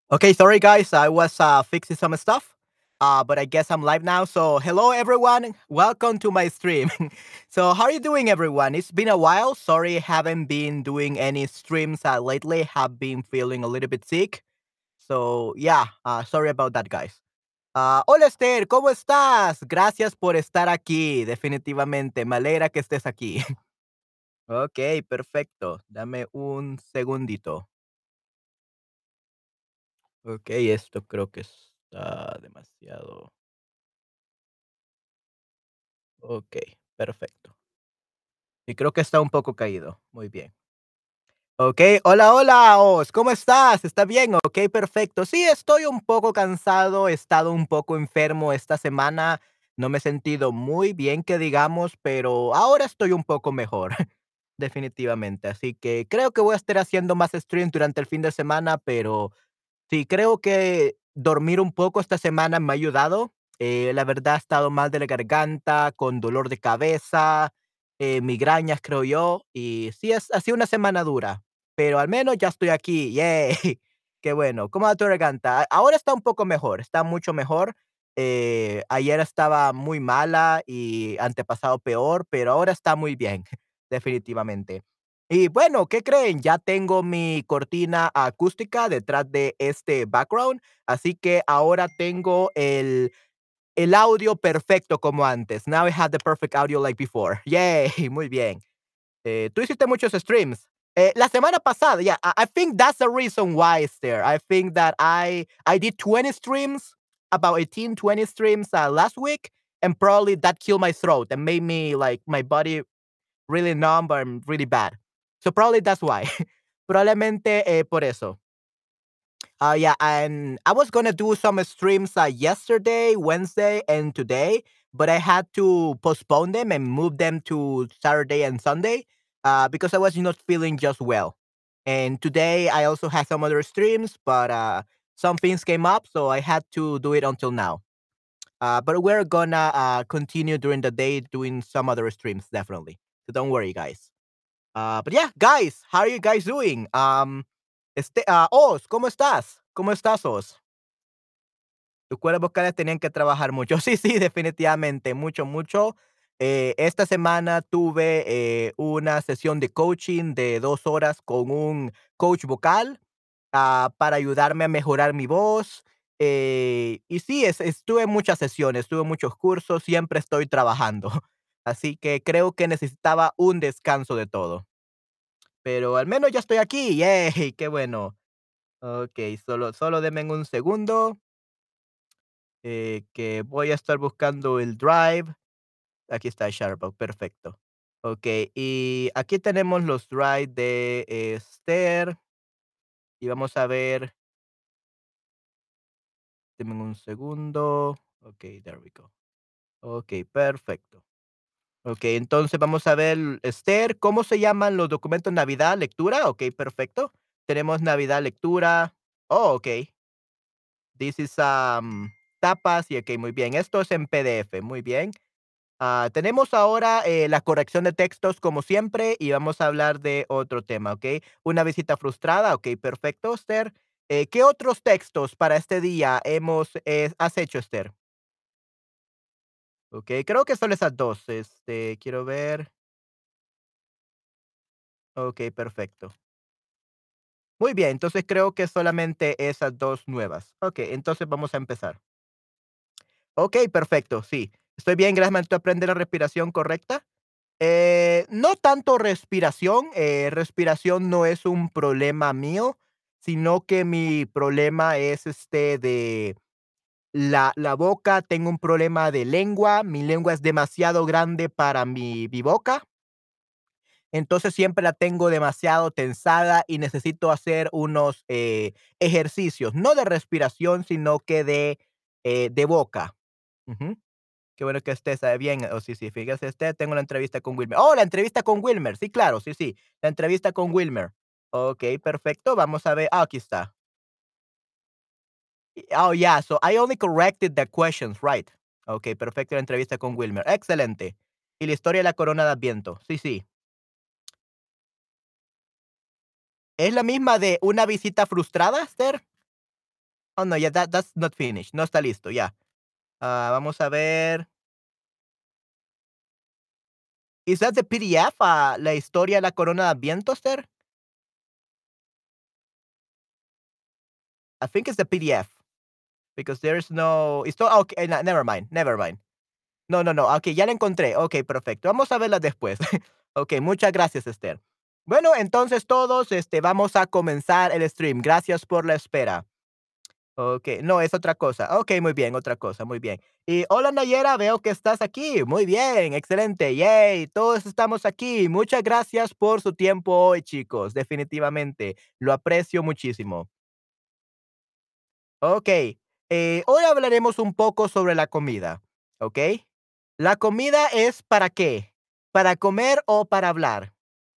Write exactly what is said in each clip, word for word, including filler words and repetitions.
Okay, sorry guys, I was uh, fixing some stuff, uh, but I guess I'm live now. So hello everyone, welcome to my stream. So how are you doing, everyone? It's been a while. Sorry, haven't been doing any streams uh, lately. Have been feeling a little bit sick. So yeah, uh, sorry about that, guys. Uh, hola Esther, ¿cómo estás? Gracias por estar aquí. Definitivamente, me alegra que estés aquí. Ok, perfecto. Dame un segundito. Ok, esto creo que está demasiado. Ok, perfecto. Y creo que está un poco caído. Muy bien. Ok, hola, hola, Os, ¿cómo estás? ¿Está bien? Ok, perfecto. Sí, estoy un poco cansado, he estado un poco enfermo esta semana, no me he sentido muy bien, que digamos, pero ahora estoy un poco mejor, definitivamente. Así que creo que voy a estar haciendo más streams durante el fin de semana, pero sí, creo que dormir un poco esta semana me ha ayudado. Eh, la verdad, he estado mal de la garganta, con dolor de cabeza, eh, migrañas, creo yo. Y sí, es, ha sido una semana dura, pero al menos ya estoy aquí. ¡Yay! Qué bueno. ¿Cómo va tu garganta? A- Ahora está un poco mejor, está mucho mejor. Eh, ayer estaba muy mala y antepasado peor, pero ahora está muy bien, definitivamente. Y bueno, ¿qué creen? Ya tengo mi cortina acústica detrás de este background, así que ahora tengo el, el audio perfecto como antes. Now I have the perfect audio like before. Yay, muy bien. Eh, tú hiciste muchos streams. Eh, la semana pasada, yeah, I, I think that's the reason why it's there. I think that I I did twenty streams, about eighteen, twenty streams uh, last week, and probably that killed my throat and made me like my body really numb and really bad. So probably that's why. Probablemente eh, por eso. Uh, yeah, and I was gonna do some streams uh, yesterday, Wednesday, and today, but I had to postpone them and move them to Saturday and Sunday uh, because I was not feeling just well. And today I also had some other streams, but uh, some things came up, so I had to do it until now. Uh, but we're gonna uh, continue during the day doing some other streams, definitely. So don't worry, guys. Uh, but yeah, guys, how are you guys doing? Um, este, uh, Oz, ¿cómo estás? ¿Cómo estás, Oz? Tus cuerdas vocales tenían que trabajar mucho. Sí, sí, definitivamente, mucho, mucho. Eh, esta semana tuve eh, una sesión de coaching de dos horas con un coach vocal ah, para ayudarme a mejorar mi voz. Eh, y sí, es, estuve en muchas sesiones, tuve muchos cursos, siempre estoy trabajando. Así que creo que necesitaba un descanso de todo. Pero al menos ya estoy aquí, yay, qué bueno. Okey, solo solo denme un segundo, eh, que voy a estar buscando el Drive. Aquí está Sharebox, perfecto. Okey, y aquí tenemos los Drive de Esther, y vamos a ver, denme un segundo. Okey, there we go. Okey, perfecto. Okey, entonces vamos a ver, Esther, ¿cómo se llaman los documentos? Navidad, lectura, okey, perfecto. Tenemos Navidad, lectura. Oh, okey. This is, um, tapas y okey, muy bien. Esto es en P D F, muy bien. Ah, tenemos ahora, eh, la corrección de textos como siempre y vamos a hablar de otro tema, ¿ok? Una visita frustrada, ok, perfecto, Esther. Eh, ¿qué otros textos para este día hemos, eh, has hecho, Esther? Ok, creo que son esas dos. Este, quiero ver. Ok, perfecto. Muy bien, entonces creo que solamente esas dos nuevas. Ok, entonces vamos a empezar. Ok, perfecto, sí. Estoy bien, gracias. ¿Tú aprendes la respiración correcta? Eh, no tanto respiración, eh, respiración no es un problema mío, sino que mi problema es este de la, la boca, tengo un problema de lengua, mi lengua es demasiado grande para mi, mi boca, entonces siempre la tengo demasiado tensada y necesito hacer unos eh, ejercicios, no de respiración, sino que de, eh, de boca. Ujú. Qué bueno que estés eh, bien. Oh, sí, sí, fíjese usted, tengo una entrevista con Wilmer. Oh, la entrevista con Wilmer. Sí, claro, sí, sí. La entrevista con Wilmer. Ok, perfecto. Vamos a ver. Ah, aquí está. Y- Oh, yeah. So I only corrected the questions, right? Ok, perfecto. La entrevista con Wilmer. Excelente. Y la historia de la corona de Adviento. Sí, sí. ¿Es la misma de una visita frustrada, Esther? Oh, no, yeah, that that's not finished. No está listo, ya. Ah, vamos a ver. Is that the P D F? Ah, la historia de la corona de Adviento, sir? I think it's the P D F because there's no it's no okay, no, never mind, never mind. No, no, no, okey, ya la encontré. Okey, perfecto. Vamos a verla después. Okey, muchas gracias, Esther. Bueno, entonces todos, este, vamos a comenzar el stream. Gracias por la espera. Okey, no, es otra cosa. Okey, muy bien, otra cosa, muy bien. Y hola, Nayera, veo que estás aquí. Muy bien, excelente, yay, todos estamos aquí. Muchas gracias por su tiempo hoy, chicos, definitivamente, lo aprecio muchísimo. Okey, eh, hoy hablaremos un poco sobre la comida, ¿ok? ¿La comida es para qué? ¿Para comer o para hablar?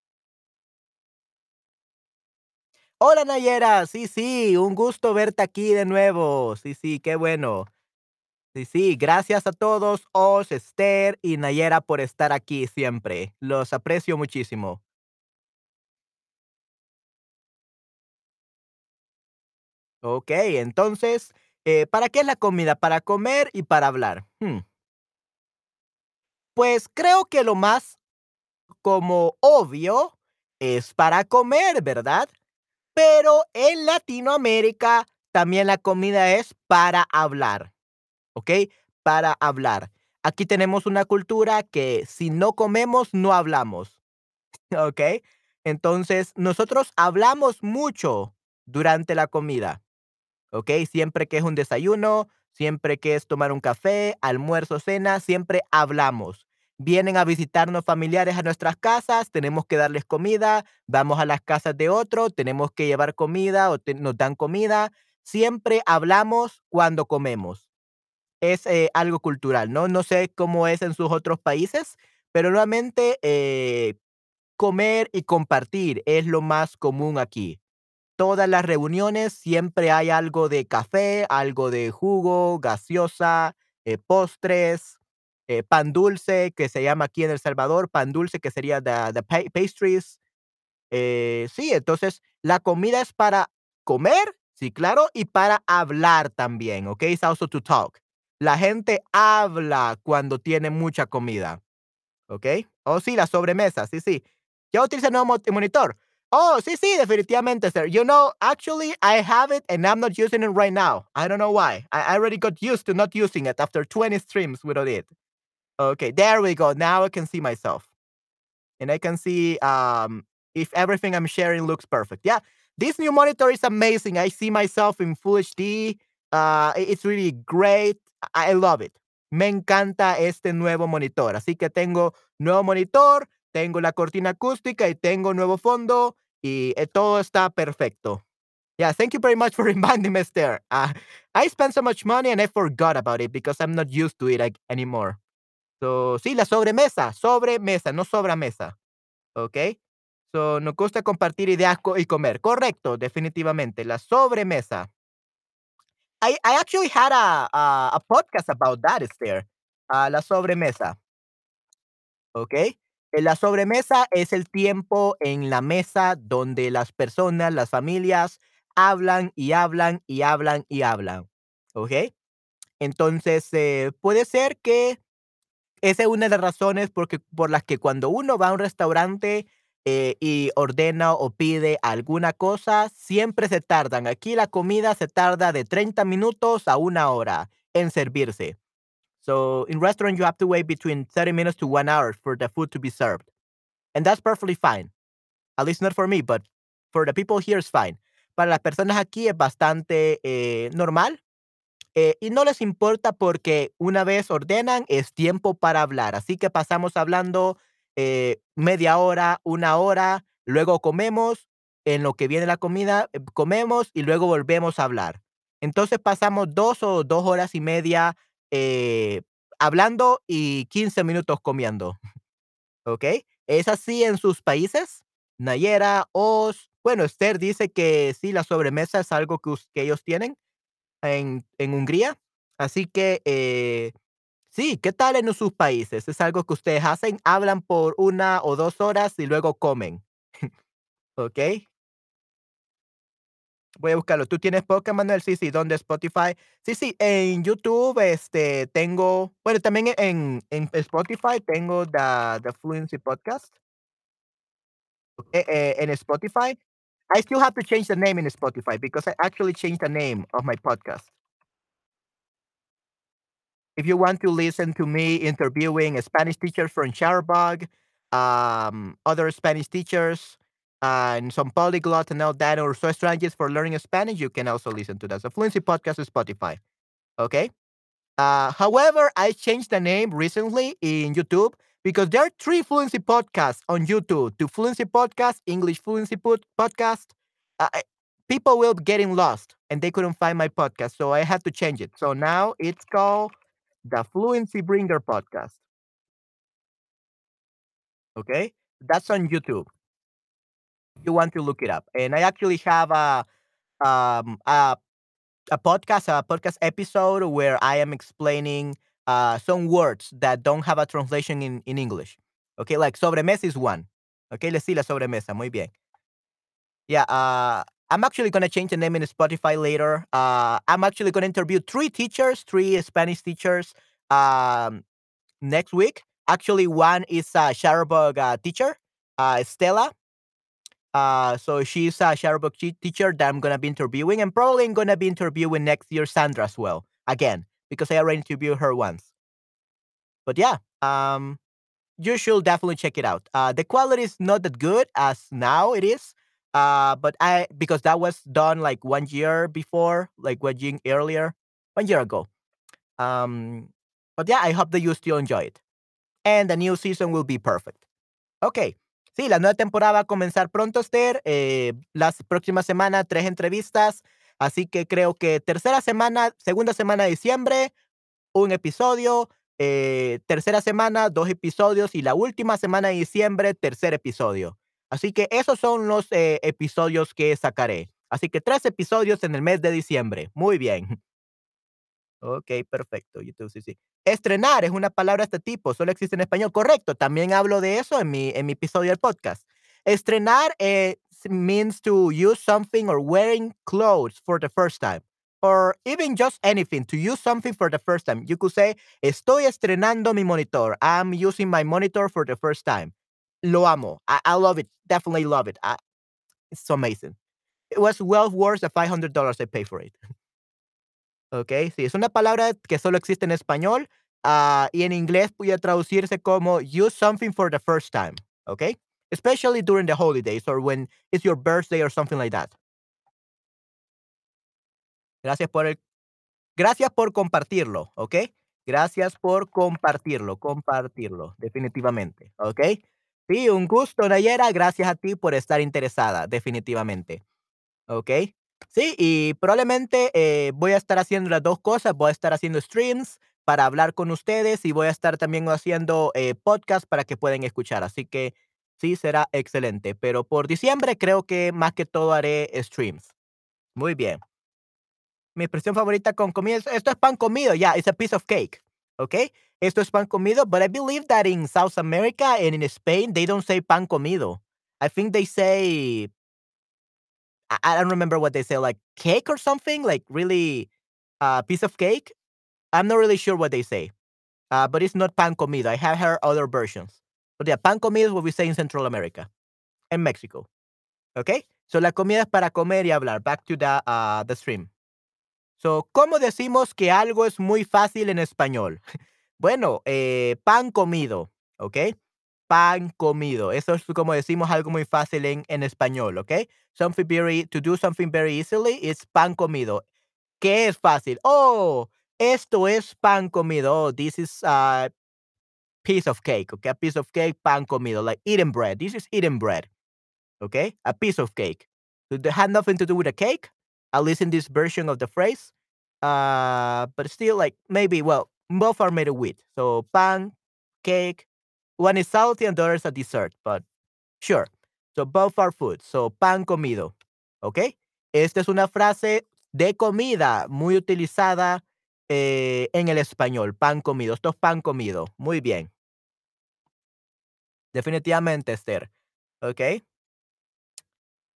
Hola, Nayera. Sí, sí, un gusto verte aquí de nuevo. Sí, sí, qué bueno. Sí, sí, gracias a todos, Oz, Esther y Nayera por estar aquí siempre. Los aprecio muchísimo. Ok, entonces, eh, ¿para qué es la comida? Para comer y para hablar. Hmm, Pues creo que lo más como obvio es para comer, ¿verdad? Pero en Latinoamérica también la comida es para hablar, ¿ok? Para hablar. Aquí tenemos una cultura que si no comemos, no hablamos, ¿ok? Entonces, nosotros hablamos mucho durante la comida. ¿Ok? Siempre que es un desayuno, siempre que es tomar un café, almuerzo, cena, siempre hablamos. Vienen a visitarnos familiares a nuestras casas, tenemos que darles comida, vamos a las casas de otro, tenemos que llevar comida o te- nos dan comida. Siempre hablamos cuando comemos. Es eh, algo cultural, ¿no? No sé cómo es en sus otros países, pero nuevamente eh, comer y compartir es lo más común aquí. Todas las reuniones siempre hay algo de café, algo de jugo, gaseosa, eh, postres, eh, pan dulce, que se llama aquí en El Salvador, pan dulce, que sería the, the pa- pastries. Eh, sí, entonces la comida es para comer, sí, claro, y para hablar también, ¿ok? It's also to talk. La gente habla cuando tiene mucha comida. ¿Ok? Oh, sí, la sobremesa, sí, sí. ¿Ya utiliza el nuevo mo- monitor? Oh, sí, sí, definitivamente, sir. You know, actually, I have it and I'm not using it right now. I don't know why. I, I already got used to not using it after twenty streams without it. Okay, there we go. Now I can see myself. And I can see um, if everything I'm sharing looks perfect. Yeah, this new monitor is amazing. I see myself in Full H D. Uh, i- it's really great. I I love it. Me encanta este nuevo monitor. Así que tengo nuevo monitor, tengo la cortina acústica y tengo nuevo fondo y eh, todo está perfecto. Yeah, thank you very much for reminding me, Esther. Uh, I spent so much money and I forgot about it because I'm not used to it like, anymore. So, sí, la sobremesa, sobremesa, no sobramesa. ¿Ok? So, nos gusta compartir ideas co- y comer. Correcto, definitivamente. La sobremesa. I, I actually had a, a, a podcast about that, Esther. Ah, la sobremesa. ¿Ok? Eh, La sobremesa es el tiempo en la mesa donde las personas, las familias, hablan y hablan y hablan y hablan. ¿Ok? Entonces, eh, puede ser que esa es una de las razones porque por las que cuando uno va a un restaurante, eh, y ordena o pide alguna cosa, siempre se tardan. Aquí la comida se tarda de treinta minutos a una hora en servirse. So, in restaurant, you have to wait between thirty minutes to one hour for the food to be served, and that's perfectly fine. At least not for me, but for the people here, it's fine. Para las personas aquí es bastante, eh, normal, eh, y no les importa porque una vez ordenan es tiempo para hablar. Así que pasamos hablando eh, media hora, una hora, luego comemos, en lo que viene la comida, eh, comemos y luego volvemos a hablar. Entonces pasamos dos o dos horas y media eh, hablando y quince minutos comiendo. ¿Ok? ¿Es así en sus países? Nayera, Oz. Bueno, Esther dice que sí, la sobremesa es algo que, us- que ellos tienen en en Hungría. Así que, eh, sí, ¿qué tal en sus países? ¿Es algo que ustedes hacen? ¿Hablan por una o dos horas y luego comen? ¿Ok? Voy a buscarlo. ¿Tú tienes podcast, Manuel? Sí, sí. ¿Dónde? Spotify. Sí, sí. En YouTube, este, tengo, bueno, también en, en Spotify tengo the, the Fluency Podcast. Eh, eh, en Spotify. I still have to change the name in Spotify because I actually changed the name of my podcast. If you want to listen to me interviewing Spanish teachers from Sharbog, um, other Spanish teachers, and some polyglots and all that, or so strategies for learning Spanish, you can also listen to that. So Fluency Podcast is Spotify. Okay. Uh, however, I changed the name recently in YouTube because there are three Fluency podcasts on YouTube. The Fluency Podcast, English Fluency pod- Podcast. Uh, I- people will be getting lost and they couldn't find my podcast, so I had to change it. So now it's called the Fluency Bringer Podcast. Okay, that's on YouTube. If you want to look it up, and I actually have a um a a podcast, a podcast episode where I am explaining uh, some words that don't have a translation in, in English. Okay, like sobremesa is one. Okay, let's see la sobremesa. Muy bien. Yeah, uh, I'm actually going to change the name in Spotify later. Uh, I'm actually going to interview three teachers, three Spanish teachers um, next week. Actually, one is a Shutterbug uh, teacher, uh, Stella. Uh, so she's a Shutterbug chi- teacher that I'm gonna be interviewing, and probably I'm gonna be interviewing next year Sandra as well again because I already interviewed her once. But yeah, um, you should definitely check it out. Uh, the quality is not that good as now it is. Uh, but I because that was done like one year before, like one year earlier, one year ago. Um, but yeah, I hope that you still enjoy it, and the new season will be perfect. Ok. Sí, la nueva temporada va a comenzar pronto, Esther. Eh, las próximas semanas, tres entrevistas. Así que creo que tercera semana, segunda semana de diciembre, un episodio. Eh, tercera semana, dos episodios. Y la última semana de diciembre, tercer episodio. Así que esos son los eh, episodios que sacaré. Así que tres episodios en el mes de diciembre. Muy bien. Ok, perfecto. YouTube, sí, sí. Estrenar es una palabra de este tipo, solo existe en español. Correcto, también hablo de eso en mi, en mi episodio del podcast. Estrenar eh, s- means to use something or wearing clothes for the first time. Or even just anything, to use something for the first time. You could say, estoy estrenando mi monitor. I'm using my monitor for the first time. Lo amo. I, I love it. Definitely love it. I, it's so amazing. It was well worth the five hundred dollars I paid for it. Okey, sí, es una palabra que solo existe en español, ah, y en inglés puede traducirse como use something for the first time, ¿okey? Especially during the holidays or when it's your birthday or something like that. Gracias por el gracias por compartirlo, ¿okey? Gracias por compartirlo, compartirlo, definitivamente, ¿okey? Sí, un gusto, Nayera, gracias a ti por estar interesada, definitivamente. Okey. Sí, y probablemente, eh, voy a estar haciendo las dos cosas, voy a estar haciendo streams para hablar con ustedes y voy a estar también haciendo, eh, podcast para que puedan escuchar, así que sí, será excelente, pero por diciembre creo que más que todo haré streams. Muy bien. Mi expresión favorita con comida es esto es pan comido, yeah, it's a piece of cake, okey. Esto es pan comido, but I believe that in South America and in Spain, they don't say pan comido. I think they say I I don't remember what they say, like cake or something, like really uh, piece of cake. I'm not really sure what they say, uh, but it's not pan comido. I have heard other versions. But yeah, pan comido is what we say in Central America and Mexico. Okay, so la comida es para comer y hablar. Back to the uh, the stream. So, ¿cómo decimos que algo es muy fácil en español? Bueno, eh, pan comido, ¿ok? Pan comido. Eso es como decimos algo muy fácil en, en español, ¿ok? Something very, to do something very easily is pan comido. ¿Qué es fácil? Oh, esto es pan comido. Oh, this is a piece of cake, okay? A piece of cake, pan comido, like eating bread. This is eating bread, okay? A piece of cake. So they had nothing to do with a cake, at least in this version of the phrase. Uh, but still, like maybe, well, both are made of wheat. So pan, cake. One is salty and the other is a dessert, but sure. So both are food. So pan comido. ¿Ok? Esta es una frase de comida muy utilizada eh, en el español. Pan comido. Esto es pan comido. Muy bien. Definitivamente, Esther. ¿Ok?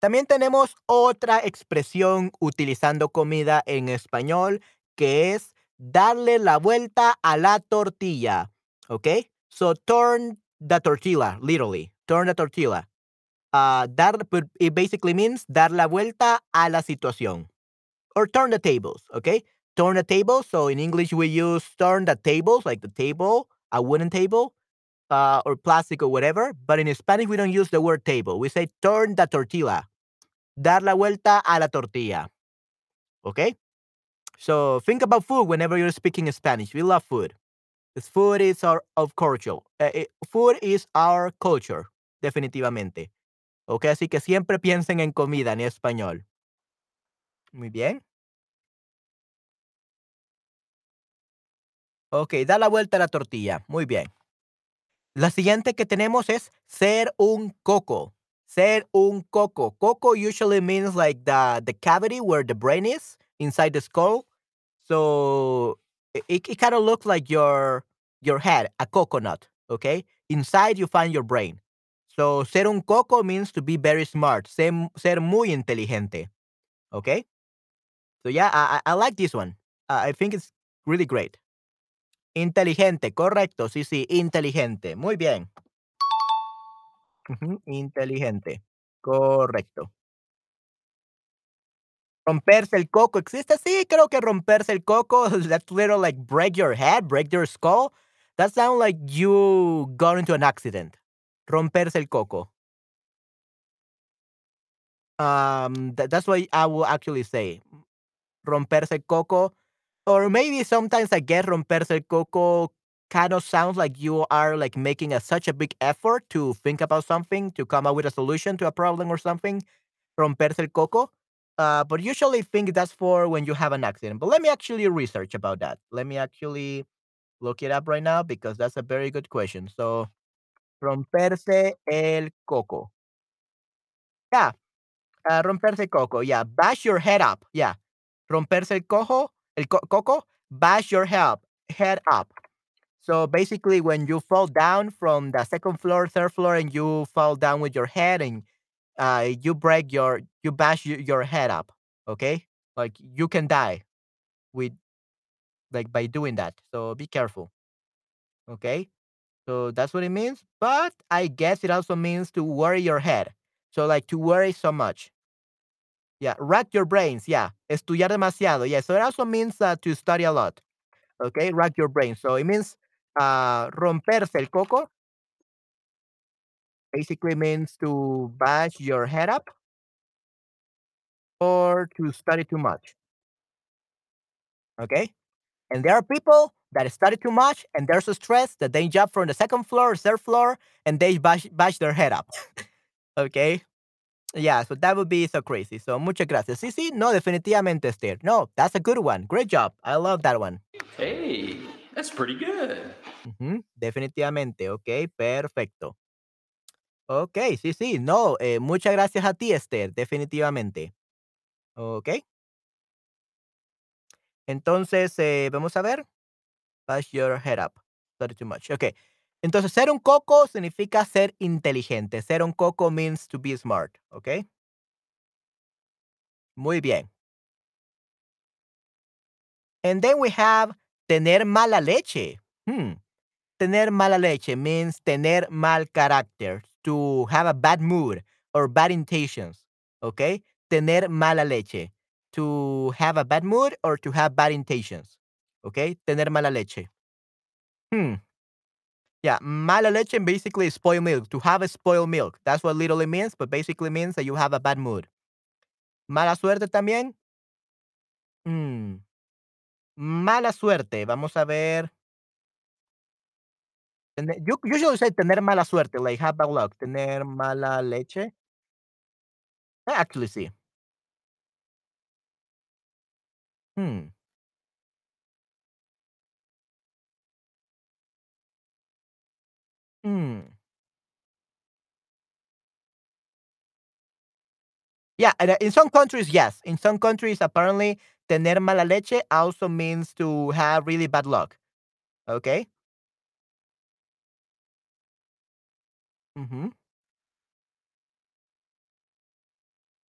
También tenemos otra expresión utilizando comida en español, que es darle la vuelta a la tortilla, ¿ok? So turn the tortilla, literally, turn the tortilla. Ah, dar, but it basically means dar la vuelta a la situación. Or turn the tables, okay? Turn the tables. So in English, we use turn the tables, like the table, a wooden table, uh, or plastic or whatever. But in Spanish, we don't use the word table. We say turn the tortilla, dar la vuelta a la tortilla, okay? So think about food whenever you're speaking Spanish. We love food. 'Cause food is our of culture. Eh, eh, food is our culture, definitivamente. Okay, así que siempre piensen en comida en español. Muy bien. Ok, da la vuelta a la tortilla. Muy bien. La siguiente que tenemos es ser un coco. Ser un coco. Coco usually means like the, the cavity where the brain is inside the skull. So it, it, it kind of looks like your your head, a coconut. Okay. Inside you find your brain. So ser un coco means to be very smart. Ser, ser muy inteligente. Okay. So yeah, I, I I like this one. Uh, I think it's really great. Inteligente, correcto. Sí, sí, inteligente. Muy bien. Ujú, inteligente. Correcto. Romperse el coco, ¿existe? Sí, creo que romperse el coco, that's little like break your head, break your skull. That sounds like you got into an accident. Romperse el coco. Um, tha- that's what I will actually say. Romperse el coco. Or maybe sometimes I guess romperse el coco kind of sounds like you are like making a, such a big effort to think about something, to come up with a solution to a problem or something. Romperse el coco. Uh, but usually think that's for when you have an accident. But let me actually research about that. Let me actually look it up right now because that's a very good question. So, romperse el coco. Yeah, uh, romperse el coco. Yeah, bash your head up. Yeah, romperse el cojo, el co- coco, bash your head, head up. So basically, when you fall down from the second floor, third floor, and you fall down with your head and uh, you break your, you bash y- your head up. Okay, like you can die with like by doing that. So be careful. Okay, so that's what it means. But I guess it also means to worry your head. So like to worry so much. Yeah, rack your brains. Yeah, estudiar demasiado. Yeah, so it also means uh, to study a lot. Okay, rack your brain. So it means uh, romperse el coco basically means to bash your head up or to study too much. Okay, and there are people that study too much and they're so stressed that they jump from the second floor or third floor and they bash, bash their head up. Okay. Yeah, so that would be so crazy. So muchas gracias. Sí, sí, no, definitivamente, Esther. No, that's a good one. Great job. I love that one. Hey, that's pretty good. Ujú, definitivamente. Ok, perfecto. Ok, sí, sí, no, eh, muchas gracias a ti, Esther, definitivamente. Ok, entonces, eh, vamos a ver. Bash your head up. Study too much. Ok, entonces, ser un coco significa ser inteligente. Ser un coco means to be smart. Ok, muy bien. And then we have tener mala leche. Hmm. Tener mala leche means tener mal carácter, to have a bad mood or bad intentions. Okay? Tener mala leche, to have a bad mood or to have bad intentions. Okay? Tener mala leche. Hmm. Yeah, mala leche basically is spoiled milk. To have a spoiled milk. That's what literally means, but basically means that you have a bad mood. Mala suerte también. Hmm. Mala suerte. Vamos a ver. Tene- You usually say tener mala suerte, like have bad luck. Tener mala leche. Actually, sí. Hmm. Hmm. Yeah, and, uh, in some countries, yes. In some countries, apparently, tener mala leche also means to have really bad luck. Okay. Hmm.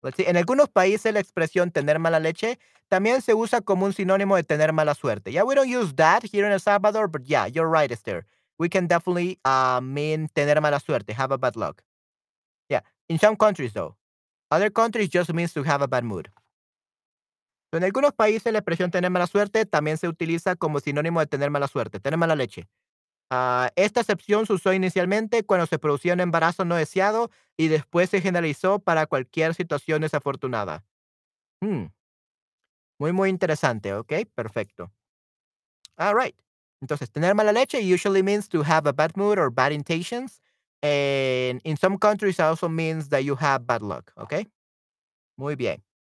Let's see, en algunos países la expresión tener mala leche también se usa como un sinónimo de tener mala suerte. Yeah, we don't use that here in El Salvador, but yeah, you're right, Esther. We can definitely uh, mean tener mala suerte, have a bad luck. Yeah, in some countries though. Other countries just means to have a bad mood. En algunos países la expresión tener mala suerte también se utiliza como sinónimo de tener mala suerte, tener mala leche. Ah, esta excepción se usó inicialmente cuando se producía un embarazo no deseado y después se generalizó para cualquier situación desafortunada. Hmm, muy, muy interesante, ¿ok? Perfecto. All right. Entonces, tener mala leche usually means to have a bad mood or bad intentions. And in some countries also means that you have bad luck, ¿ok? Muy bien.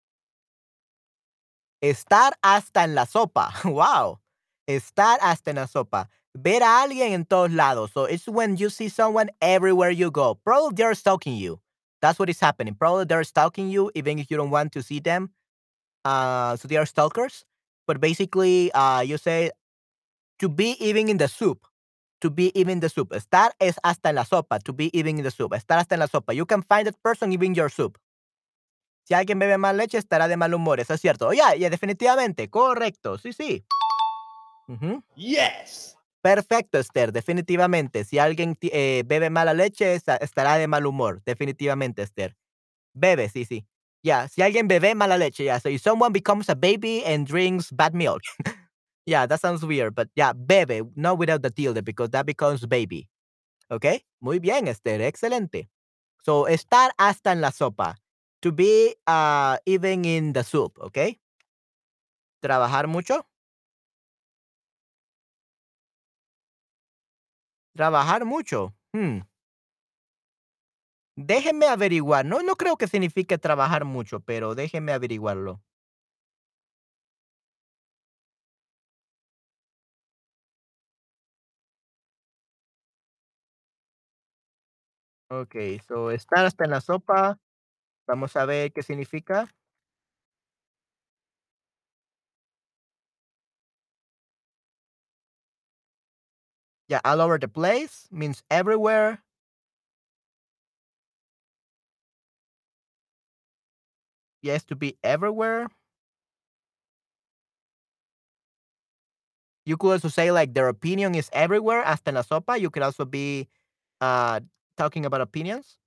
Estar hasta en la sopa. Wow. Estar hasta en la sopa. Ver a alguien en todos lados. So it's when you see someone everywhere you go. Probably they're stalking you. That's what is happening. Probably they're stalking you even if you don't want to see them. Uh, so they are stalkers. But basically, uh, you say to be even in the soup. To be even in the soup. Estar es hasta en la sopa. To be even in the soup. Estar hasta en la sopa. You can find that person even in your soup. Si alguien bebe más leche, estará de mal humor. Eso es cierto. Ya, ya, definitivamente. Correcto. Sí, sí. Ujú. Yes. Perfecto, Esther. Definitivamente. Si alguien ti- eh, bebe mala leche, esta- estará de mal humor. Definitivamente, Esther. Bebe, sí, sí. Yeah. Si alguien bebe mala leche, yeah. So if someone becomes a baby and drinks bad milk. Yeah, that sounds weird, but yeah, bebe, not without the tilde, because that becomes baby. Okay. Muy bien, Esther. Excelente. So, estar hasta en la sopa. To be uh, even in the soup, okay. Trabajar mucho. Trabajar mucho. Hmm. Déjenme averiguar. No, no creo que signifique trabajar mucho, pero déjenme averiguarlo. Okay, so estar hasta en la sopa. Vamos a ver qué significa. Yeah, all over the place means everywhere. Yes, to be everywhere. You could also say like their opinion is everywhere. Hasta en la sopa. You could also be uh talking about opinions.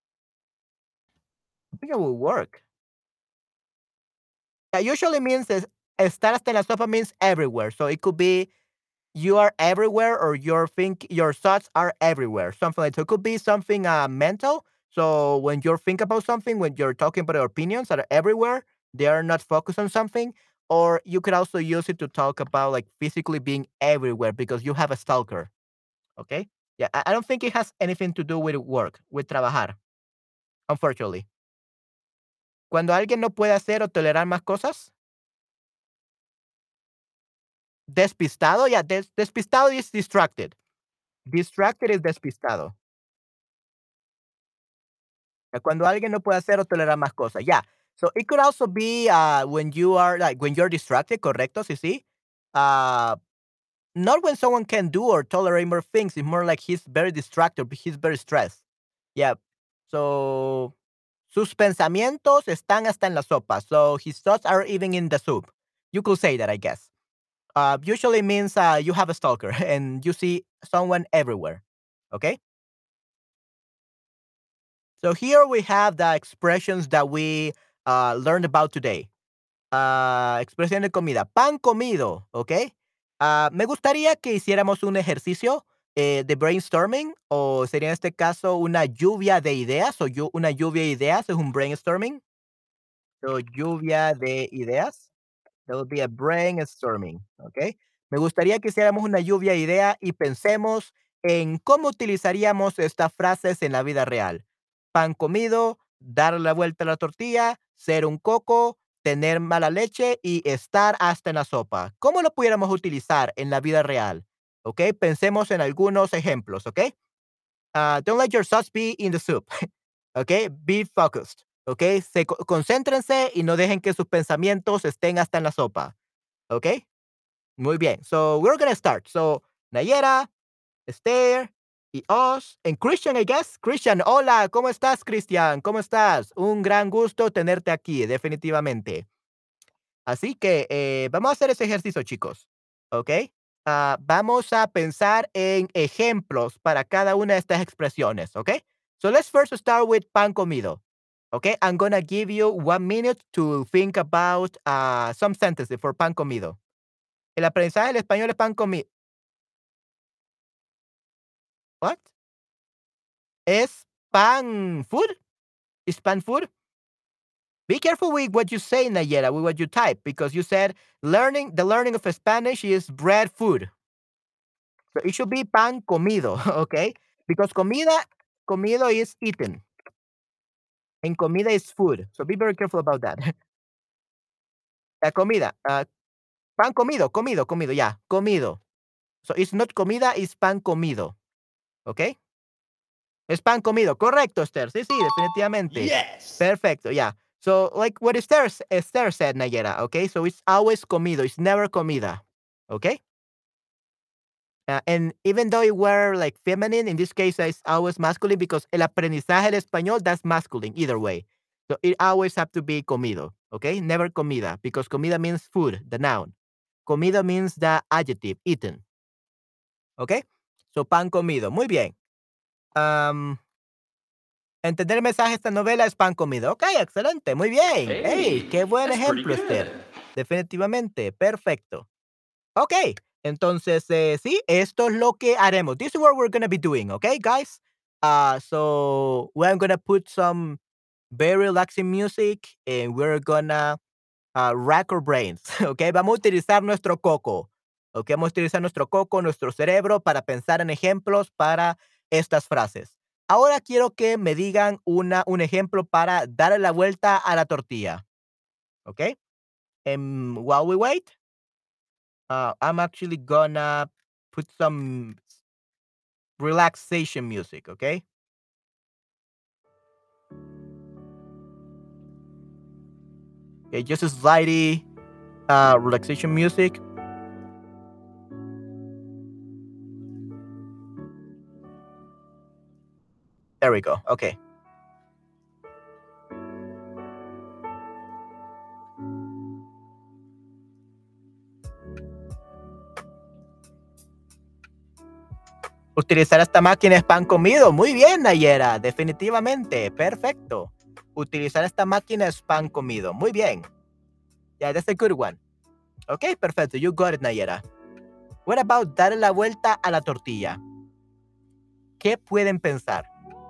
I think it will work. Yeah, usually means es- estar hasta en la sopa means everywhere. So it could be you are everywhere or your think your thoughts are everywhere. Something like so it could be something uh mental. So when you think about something, when you're talking about your opinions that are everywhere, they are not focused on something. Or you could also use it to talk about like physically being everywhere because you have a stalker. Okay. Yeah, I I don't think it has anything to do with work, with trabajar, unfortunately. Cuando alguien no puede hacer o tolerar más cosas, despistado, yeah, des- despistado is distracted. Distracted is despistado. Uh, Cuando alguien no puede hacer o tolerar más cosas. Yeah. So it could also be uh, when you are like when you're distracted, correcto, sí, sí. Uh, not when someone can do or tolerate more things. It's more like he's very distracted, he's very stressed. Yeah. So sus pensamientos están hasta en la sopa. So his thoughts are even in the soup. You could say that, I guess. Uh, usually means uh, you have a stalker and you see someone everywhere. Okay. So here we have the expressions that we uh, learned about today. Ah, expresión de comida. Pan comido, ¿ok? Ah, me gustaría que hiciéramos un ejercicio eh, de brainstorming o sería en este caso una lluvia de ideas o llu- una lluvia de ideas es un brainstorming. So, lluvia de ideas. That would be a brainstorming, ¿ok? Me gustaría que hiciéramos una lluvia de idea y pensemos en cómo utilizaríamos estas frases en la vida real. Pan comido, dar la vuelta a la tortilla, ser un coco, tener mala leche y estar hasta en la sopa. ¿Cómo lo pudiéramos utilizar en la vida real? ¿Ok? Pensemos en algunos ejemplos, ¿ok? Ah, don't let your thoughts be in the soup. ¿Ok? Be focused. ¿Ok? Se, co- concéntrense y no dejen que sus pensamientos estén hasta en la sopa. ¿Ok? Muy bien. So we're gonna start. So Nayera, Esther, y os. En Christian, I guess. Christian, hola, ¿cómo estás, Christian? ¿Cómo estás? Un gran gusto tenerte aquí, definitivamente. Así que eh, vamos a hacer ese ejercicio, chicos. ¿Ok? Ah, vamos a pensar en ejemplos para cada una de estas expresiones. ¿Ok? So let's first start with pan comido. Okay, I'm gonna give you one minute to think about uh, some sentences for pan comido. El aprendizaje del español es pan comido. What? Es pan food? Is pan food? Be careful with what you say, Nayera, with what you type, because you said learning the learning of Spanish is bread food. So it should be pan comido, okay? Because comida, comido is eaten, and comida is food. So be very careful about that. La comida, uh, pan comido, comido, comido, yeah, comido. So it's not comida, it's pan comido, okay? Es pan comido, correcto, Esther. Sí, sí, definitivamente. Yes. Perfecto, yeah. So, like what Esther, s- Esther said, Nayera, okay? So it's always comido, it's never comida, okay? Uh, and even though it were like feminine, in this case, it's always masculine because el aprendizaje del español, that's masculine either way. So it always have to be comido, okay? Never comida, because comida means food, the noun. Comido means the adjective, eaten, okay? So pan comido, muy bien. Um, Entender el mensaje de esta novela es pan comido. Ok, excelente, muy bien. Hey, Hey, qué buen that's pretty ejemplo, Esther. good. Definitivamente, perfecto. Ok, entonces, eh, sí, esto es lo que haremos. This is what we're going to be doing, okay, guys? Uh, so, we're going to put some very relaxing music and we're gonna uh, rack our brains, ¿ok? Vamos a utilizar nuestro coco, ¿ok? Vamos a utilizar nuestro coco, nuestro cerebro para pensar en ejemplos para estas frases. Ahora quiero que me digan una, un ejemplo para darle la vuelta a la tortilla, ¿ok? And while we wait, uh, I'm actually gonna put some relaxation music, ¿ok? Okay, just a slightly uh, relaxation music. There we go. Okay. Utilizar esta máquina es pan comido. Muy bien, Nayera. Definitivamente. Perfecto. Utilizar esta máquina es pan comido. Muy bien. Yeah, that's a good one. Okay, perfecto. You got it, Nayera. What about darle la vuelta a la tortilla? ¿Qué pueden pensar?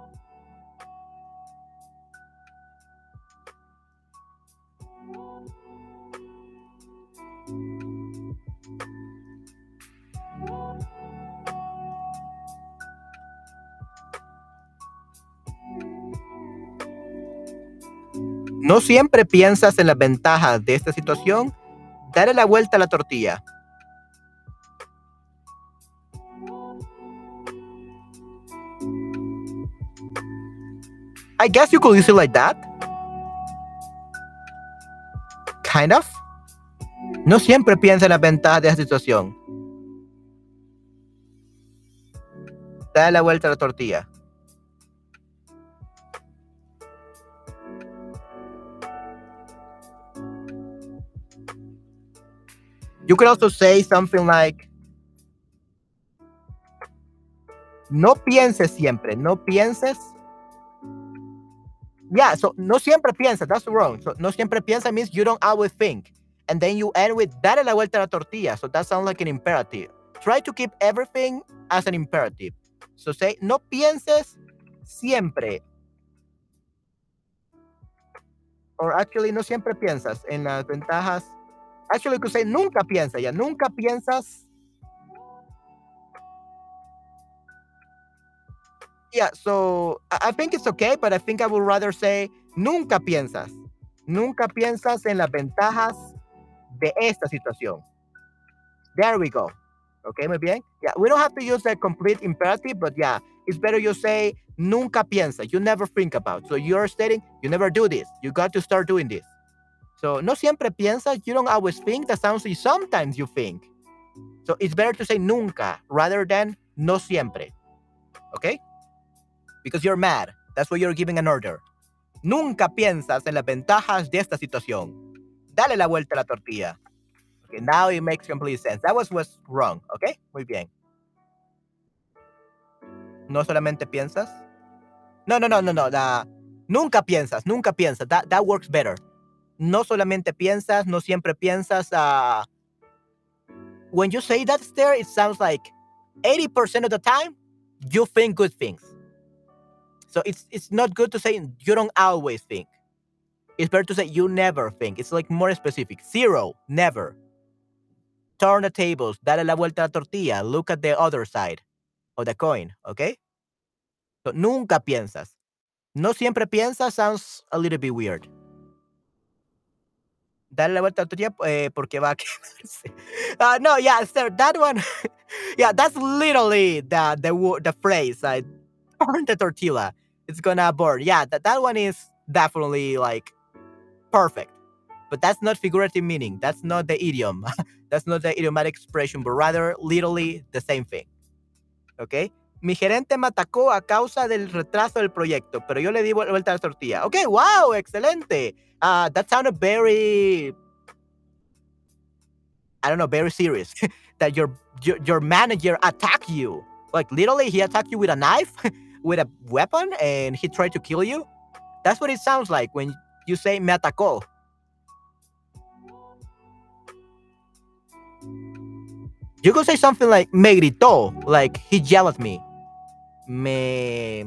No siempre piensas en las ventajas de esta situación. Dale la vuelta a la tortilla. I guess you could use it like that. Kind of. No siempre piensa en las ventajas de esta situación. Dale la vuelta a la tortilla. You could also say something like, no pienses siempre, no pienses. Yeah, so no siempre piensa, that's wrong. So no siempre piensa means you don't always think. And then you end with dale la vuelta a la tortilla. So that sounds like an imperative. Try to keep everything as an imperative. So say, no pienses siempre. Or actually, no siempre piensas en las ventajas. Actually, you could say, nunca piensa, ya, nunca piensas. Yeah, so I I think it's okay, but I think I would rather say, nunca piensas. Nunca piensas en las ventajas de esta situación. There we go. Okay, muy bien. Yeah, we don't have to use the complete imperative, but yeah, it's better you say nunca piensa. You never think about. So you're stating you never do this. You got to start doing this. So no siempre piensas. You don't always think. That sounds like sometimes you think. So it's better to say nunca rather than no siempre. okay? Because you're mad. That's why you're giving an order. Nunca piensas en las ventajas de esta situación. Dale la vuelta a la tortilla. Okay, now it makes complete sense. That was was wrong, okay? Muy bien. No solamente piensas. No, no, no, no, no. The, nunca piensas, nunca piensas. That, that works better. No solamente piensas, no siempre piensas. Uh, when you say that, there, it sounds like eighty percent of the time, you think good things. So it's it's not good to say you don't always think. It's better to say you never think. It's like more specific. Zero, never. Turn the tables, dale la vuelta a la tortilla, look at the other side of the coin, okay? So, nunca piensas. No siempre piensas sounds a little bit weird. Dale la vuelta a la tortilla eh, porque va a quemarse. Uh, no, yeah, sir, that one, yeah, that's literally the the the phrase. I turn the tortilla, it's gonna burn. Yeah, that, that one is definitely like perfect. But that's not figurative meaning. That's not the idiom. That's not the idiomatic expression, but rather literally the same thing. ¿Ok? Mi gerente me atacó a causa del retraso del proyecto, pero yo le di vuelta a la tortilla. Ok, wow, excelente. Uh, that sounded very, I don't know, very serious. That your, your your manager attacked you. Like literally, he attacked you with a knife, with a weapon, and he tried to kill you. That's what it sounds like when you say me atacó. You could say something like me gritó, like he yelled at me. Me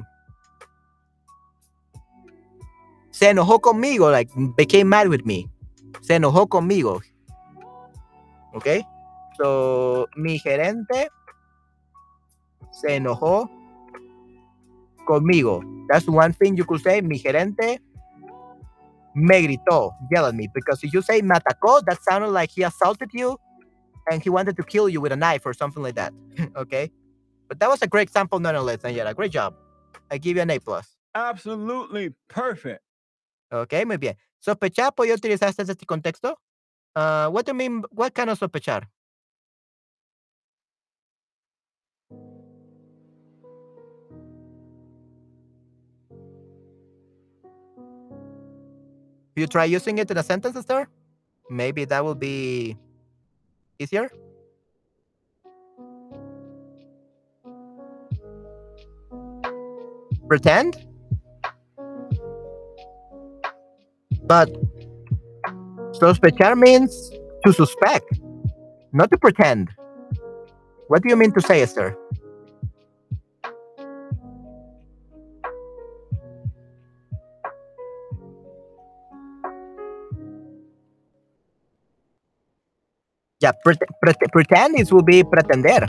se enojó conmigo, like became mad with me. Se enojó conmigo. Okay? So, mi gerente se enojó conmigo. That's one thing you could say. Mi gerente me gritó, yelled at me. Because if you say me atacó, that sounded like he assaulted you and he wanted to kill you with a knife or something like that. Okay? But that was a great example nonetheless, Daniela. Great job. I give you an A plus. Absolutely perfect. Ok, muy bien. ¿Sospechar podía utilizarse en este contexto? Uh, what do you mean? What kind of sospechar? You try using it in a sentence, Esther? Maybe that will be easier. Pretend? But sospechar means to suspect, not to pretend. What do you mean to say, Esther? Yeah, pre pre pretend is will be pretender.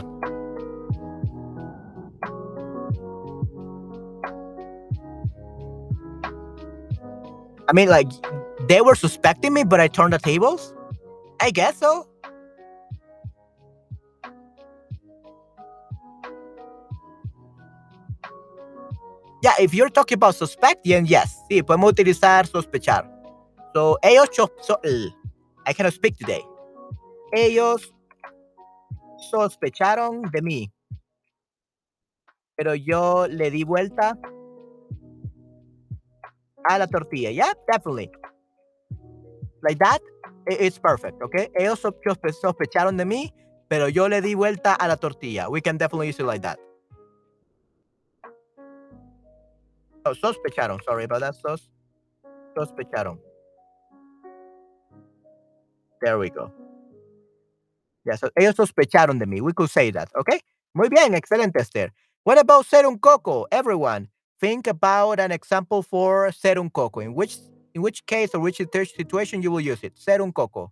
I mean, like, they were suspecting me, but I turned the tables? I guess so. Yeah, if you're talking about suspect, then yes. Sí, podemos utilizar sospechar. So, ellos, so, I cannot speak today. Ellos sospecharon de mí. Pero yo le di vuelta a la tortilla. Yeah, definitely. Like that, it's perfect, okay? Ellos sospecharon de mí, pero yo le di vuelta a la tortilla. We can definitely use it like that. Oh, sospecharon. Sorry about that. Sos sospecharon. There we go. Yeah, so ellos sospecharon de mí. We could say that, okay? Muy bien, excelente, Esther. What about ser un coco? Everyone, think about an example for ser un coco. In which in which case or which situation you will use it? Ser un coco.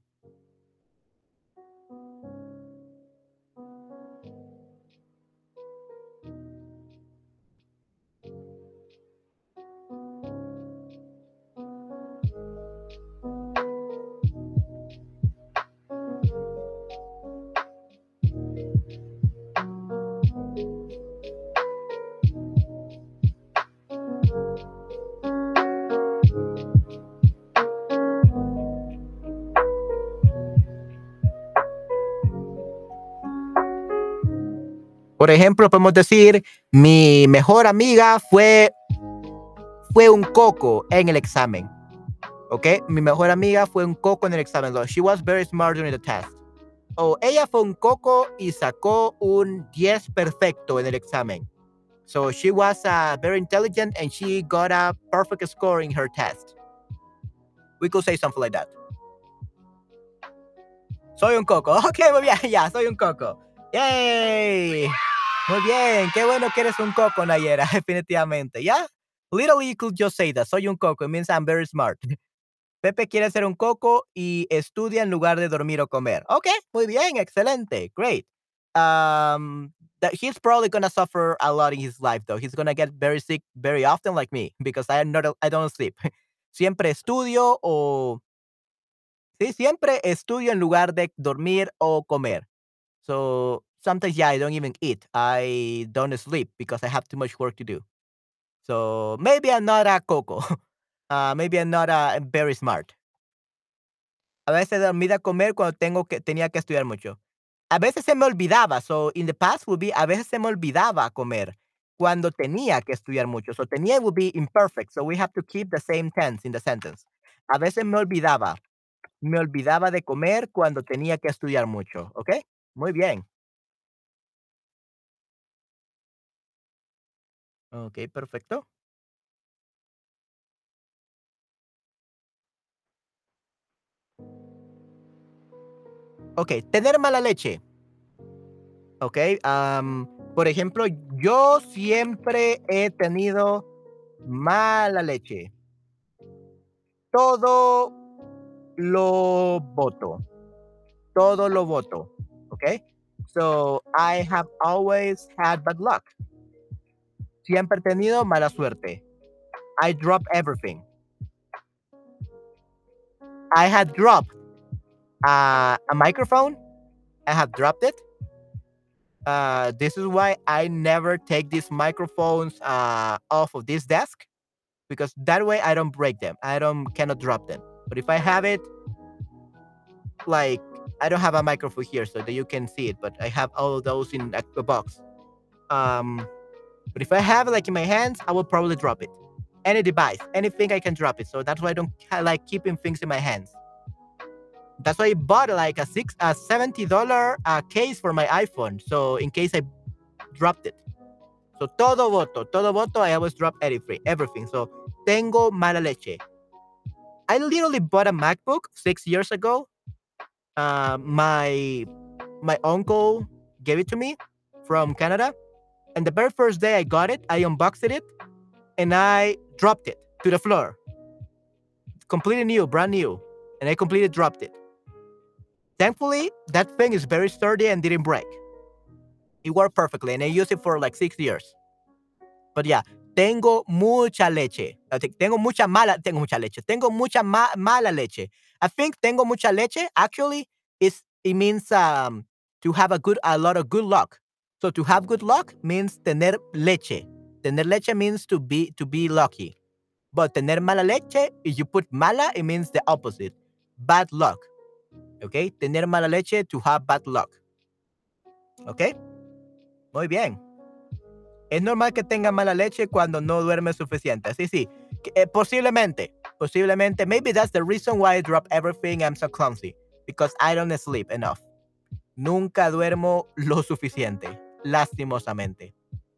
Por ejemplo, podemos decir, mi mejor amiga fue, fue un coco en el examen. ¿Ok? Mi mejor amiga fue un coco en el examen. So, she was very smart during the test. O ella fue un coco y sacó un diez perfecto en el examen. So she was uh, very intelligent and she got a perfect score in her test. We could say something like that. Soy un coco. Ok, muy bien, ya, soy un coco. Yay. Muy bien, qué bueno que eres un coco, Nayera, definitivamente. ¿Ya? Literally, you could just say that. Soy un coco. It means I'm very smart. Pepe quiere ser un coco y estudia en lugar de dormir o comer. Ok, muy bien, excelente, great. Um, that he's probably gonna suffer a lot in his life, though. He's gonna get very sick very often, like me, because I am not, I don't sleep. Siempre estudio o sí, siempre estudio en lugar de dormir o comer. So sometimes, yeah, I don't even eat. I don't sleep because I have too much work to do. So maybe I'm not a coco. Uh, maybe I'm not uh, very smart. A veces dormida a comer cuando tengo que tenía que estudiar mucho. A veces se me olvidaba, so in the past would be a veces se me olvidaba comer cuando tenía que estudiar mucho. So tenía would be imperfect, so we have to keep the same tense in the sentence. A veces me olvidaba, me olvidaba de comer cuando tenía que estudiar mucho, ¿ok? Muy bien. Ok, perfecto. Ok, tener mala leche. Ok, am, por ejemplo, yo siempre he tenido mala leche. Todo lo voto. Todo lo voto. Okay? So I have always had bad luck. Siempre he tenido mala suerte. I drop everything. I had dropped uh, a microphone. I have dropped it. Uh, this is why I never take these microphones uh, off of this desk because that way I don't break them. I don't cannot drop them. But if I have it, like I don't have a microphone here so that you can see it, but I have all of those in a, a box. Um, but if I have it like in my hands, I will probably drop it. Any device, anything I can drop it. So that's why I don't I like keeping things in my hands. That's why I bought like a six a seventy dollar uh, case for my iPhone. So in case I dropped it. So todo voto, todo voto. I always drop everything, everything. So tengo mala leche. I literally bought a MacBook six years ago. Uh, my my uncle gave it to me from Canada, and the very first day I got it, I unboxed it, and I dropped it to the floor. Completely new, brand new, and I completely dropped it. Thankfully, that thing is very sturdy and didn't break. It worked perfectly, and I used it for like six years. But yeah, tengo mucha leche. I think tengo mucha mala, tengo mucha leche. Tengo mucha ma mala leche. I think tengo mucha leche actually is it means um to have a good a lot of good luck. So to have good luck means tener leche. Tener leche means to be to be lucky. But tener mala leche, if you put mala, it means the opposite. Bad luck. Okay? Tener mala leche to have bad luck. Okay? Muy bien. Es normal que tenga mala leche cuando no duerme suficiente. Sí, sí. Eh, posiblemente. Posiblemente. Maybe that's the reason why I drop everything. I'm so clumsy. Because I don't sleep enough. Nunca duermo lo suficiente. Lastimosamente.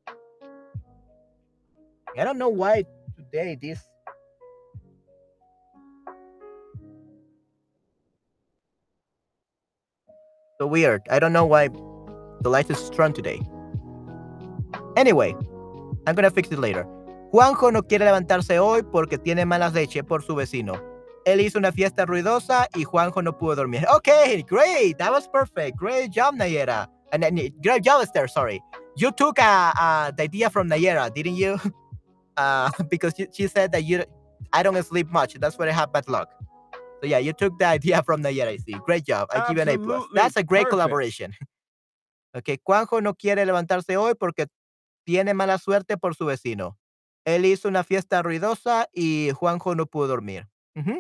I don't know why today this. So weird. I don't know why the light is strong today. Anyway, I'm gonna fix it later. Juanjo no quiere levantarse hoy porque tiene mala leche por su vecino. Él hizo una fiesta ruidosa y Juanjo no pudo dormir. Okay, great. That was perfect. Great job, Nayera. And then, great job, Esther. Sorry. You took uh, uh, the idea from Nayera, didn't you? Uh, because she, she said that you, I don't sleep much. That's why I have bad luck. So yeah, you took the idea from Nayera, I see. Great job. I give you an A plus. That's a great perfect. Collaboration. Okay, Juanjo no quiere levantarse hoy porque tiene mala suerte por su vecino. Él hizo una fiesta ruidosa y Juanjo no pudo dormir. Mm-hmm.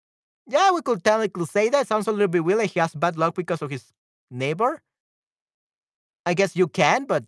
Yeah, we could technically say that. Sounds a little bit weird. Like he has bad luck because of his neighbor. I guess you can, but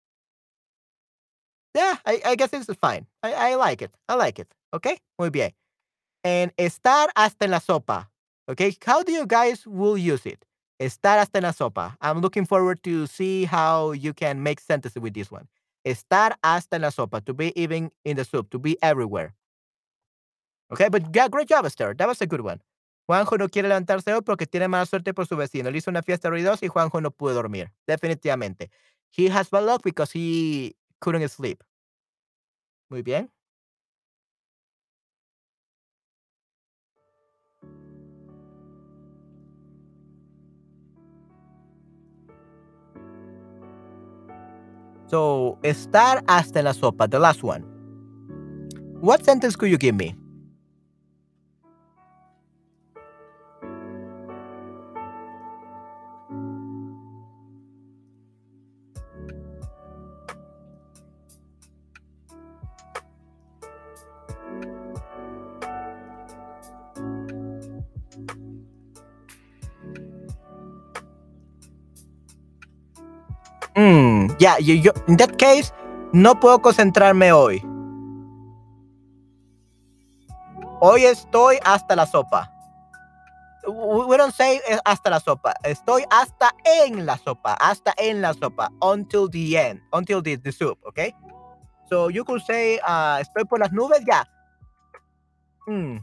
yeah, I, I guess it's fine. I, I like it. I like it. Okay, muy bien. And estar hasta en la sopa. Okay, how do you guys will use it? Estar hasta en la sopa. I'm looking forward to see how you can make sentences with this one. Estar hasta en la sopa, to be even in the soup, to be everywhere. Okay, but yeah, great job, Esther. That was a good one. Juanjo no quiere levantarse hoy porque tiene mala suerte por su vecino. Le hizo una fiesta ruidosa y Juanjo no pudo dormir. Definitivamente. He has bad luck because he couldn't sleep. Muy bien. So, estar hasta en la sopa, the last one. What sentence could you give me? Mm, yeah, you, you, in that case, no puedo concentrarme hoy. Hoy estoy hasta la sopa. We don't say hasta la sopa. Estoy hasta en la sopa. Hasta en la sopa. Until the end. Until the, the soup, okay? So you could say, uh, estoy por las nubes, yeah. Hmm.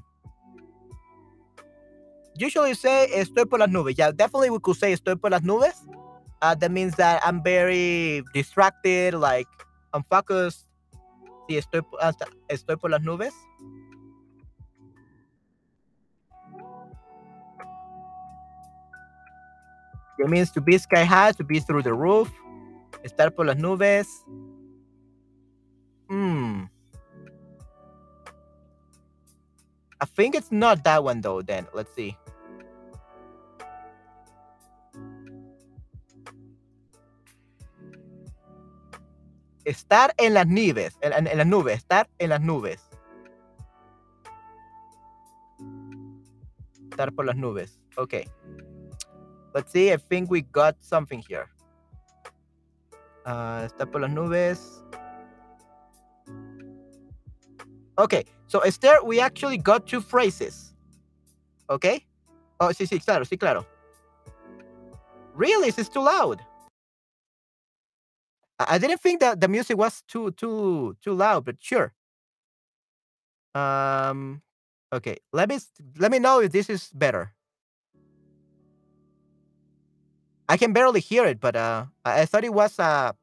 Usually say, estoy por las nubes. Yeah, definitely we could say, estoy por las nubes. Uh, that means that I'm very distracted, like, unfocused. Sí, estoy, hasta, estoy por las nubes. It means to be sky high, to be through the roof. Estar por las nubes. Hmm. I think it's not that one though, then. Let's see. Estar en las nubes. En, en, en las nubes. Estar en las nubes. Estar por las nubes. Okay. Let's see. I think we got something here. Uh, estar por las nubes. Okay. So, Esther, we actually got two phrases. Okay? Oh, sí, sí, claro, sí, claro. Really? This is too loud. I, I didn't think that the music was too, too, too loud, but sure. Um, okay. Let me, let me know if this is better. I can barely hear it, but uh, I, I thought it was uh,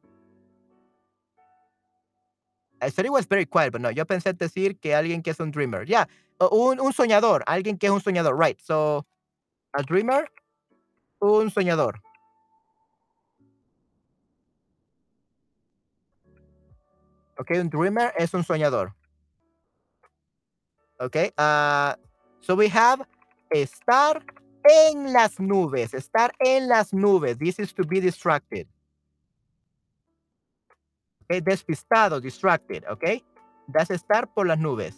I thought it was very quiet, but no. Yo pensé decir que alguien que es un dreamer. Yeah, uh, un, un soñador, alguien que es un soñador, right? So, a dreamer, un soñador. Okay, un dreamer es un soñador. Okay, uh, so we have estar en las nubes, estar en las nubes. This is to be distracted. Okay, despistado, distracted, okay? That's estar por las nubes.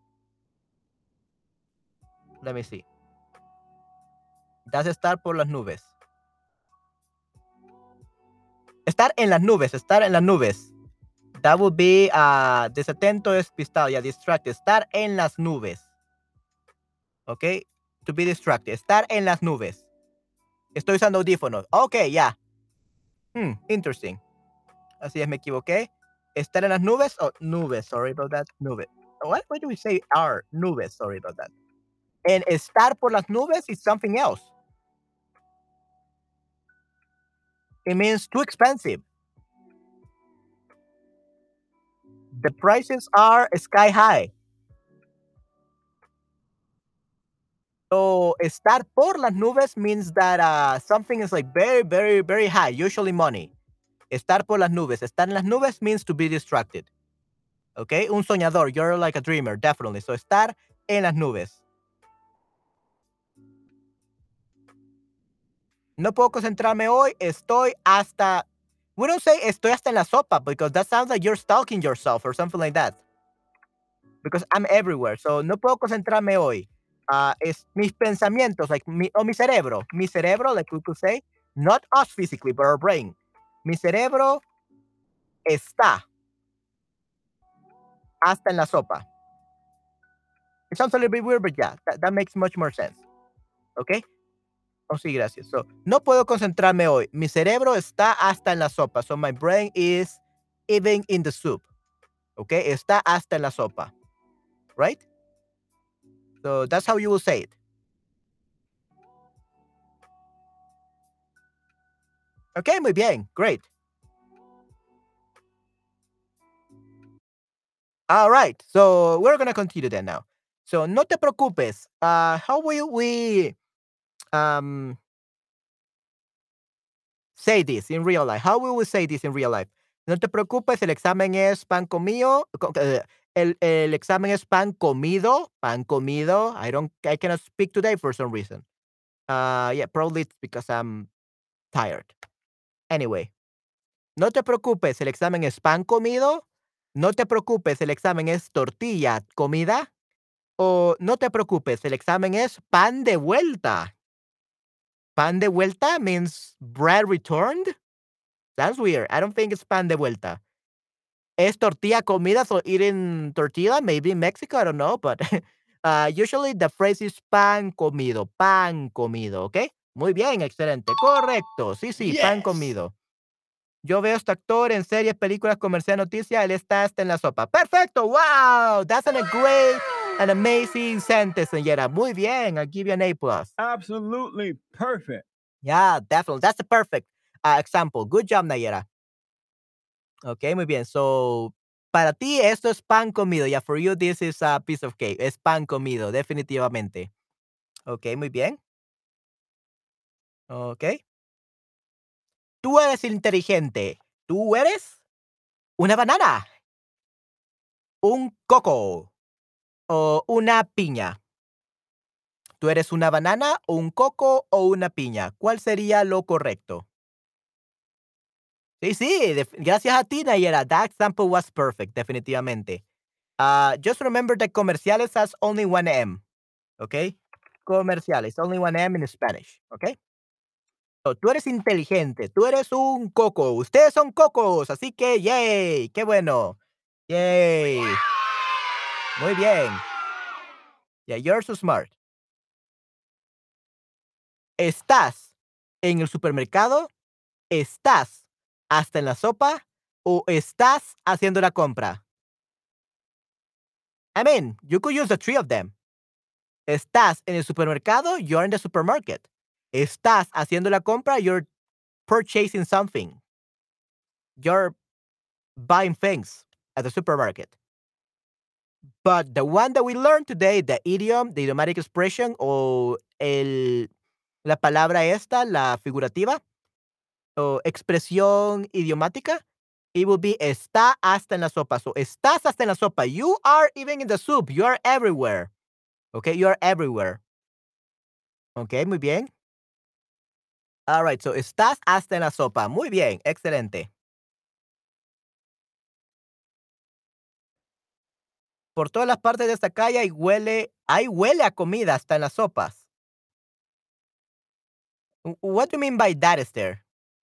Let me see. That's estar por las nubes. Estar en las nubes, estar en las nubes. That would be uh, desatento, despistado, yeah, distracted. Estar en las nubes. Okay, to be distracted. Estar en las nubes. Estoy usando audífonos. Okay, yeah. Hmm, interesting. Así es, me equivoqué. Estar en las nubes o oh, nubes, sorry about that. Nubes. What? Why do we say are? Nubes, sorry about that. And estar por las nubes is something else. It means too expensive. The prices are sky high. So, estar por las nubes means that uh, something is like very, very, very high, usually money. Estar por las nubes. Estar en las nubes means to be distracted. Okay? Un soñador. You're like a dreamer, definitely. So, estar en las nubes. No puedo concentrarme hoy. Estoy hasta. We don't say estoy hasta en la sopa because that sounds like you're stalking yourself or something like that. Because I'm everywhere. So, no puedo concentrarme hoy. Uh, es mis pensamientos, like mi, o mi cerebro. Mi cerebro, like we could say, not us physically, but our brain. Mi cerebro está hasta en la sopa. It sounds a little bit weird, but yeah, that, that makes much more sense. ¿Ok? Oh, sí, gracias. So, no puedo concentrarme hoy. Mi cerebro está hasta en la sopa. So, my brain is even in the soup. ¿Ok? Está hasta en la sopa. Right? So, that's how you will say it. Ok, muy bien. Great. All right. So, we're going to continue then now. So, no te preocupes. Uh, how will we um, say this in real life? How will we say this in real life? No te preocupes, el examen es pan comido. co- eh, El, el examen es pan comido. Pan comido. I don't. I cannot speak today for some reason. Uh, yeah, probably it's because I'm tired. Anyway, no te preocupes, el examen es pan comido. No te preocupes, el examen es tortilla comida. O no te preocupes, el examen es pan de vuelta. Pan de vuelta means bread returned. That's weird. I don't think it's pan de vuelta. Es tortilla comida, so eating tortilla, maybe in Mexico, I don't know, but uh, usually the phrase is pan comido, pan comido, ¿ok? Muy bien, excelente, correcto, sí, sí, pan Yes. comido. Yo veo a este actor en series, películas, comercial, noticias, él está hasta en la sopa. Perfecto, wow, that's an, a great and amazing sentence, señora. Muy bien, I'll give you an A plus. Absolutely perfect. Yeah, definitely, that's a perfect uh, example. Good job, Nayera. Ok, muy bien. So, para ti esto es pan comido. Yeah, for you this is a piece of cake. Es pan comido, definitivamente. Ok, muy bien. Ok. Tú eres inteligente. Tú eres una banana, un coco o una piña. Tú eres una banana, un coco o una piña. ¿Cuál sería lo correcto? Sí, sí, def- gracias a ti, Nayera. That example was perfect, definitivamente. Uh, just remember that comerciales has only one M. Okay? Comerciales, only one M in Spanish. Okay? So, tú eres inteligente, tú eres un coco. Ustedes son cocos, así que, yay, qué bueno. Yay. Muy bien. Yeah, you're so smart. ¿Estás en el supermercado? ¿Estás hasta en la sopa? ¿O estás haciendo la compra? I mean, you could use the three of them. ¿Estás en el supermercado? You're in the supermarket. ¿Estás haciendo la compra? You're purchasing something. You're buying things at the supermarket. But the one that we learned today, the idiom, the idiomatic expression, o el, la palabra esta, la figurativa, o expresión idiomática, it will be está hasta en la sopa. So, estás hasta en la sopa. You are even in the soup. You are everywhere. Okay, you are everywhere. Okay, muy bien. All right, so estás hasta en la sopa. Muy bien, excelente. Por todas las partes de esta calle hay huele, hay huele a comida hasta en las sopas. W- What do you mean by that, Esther?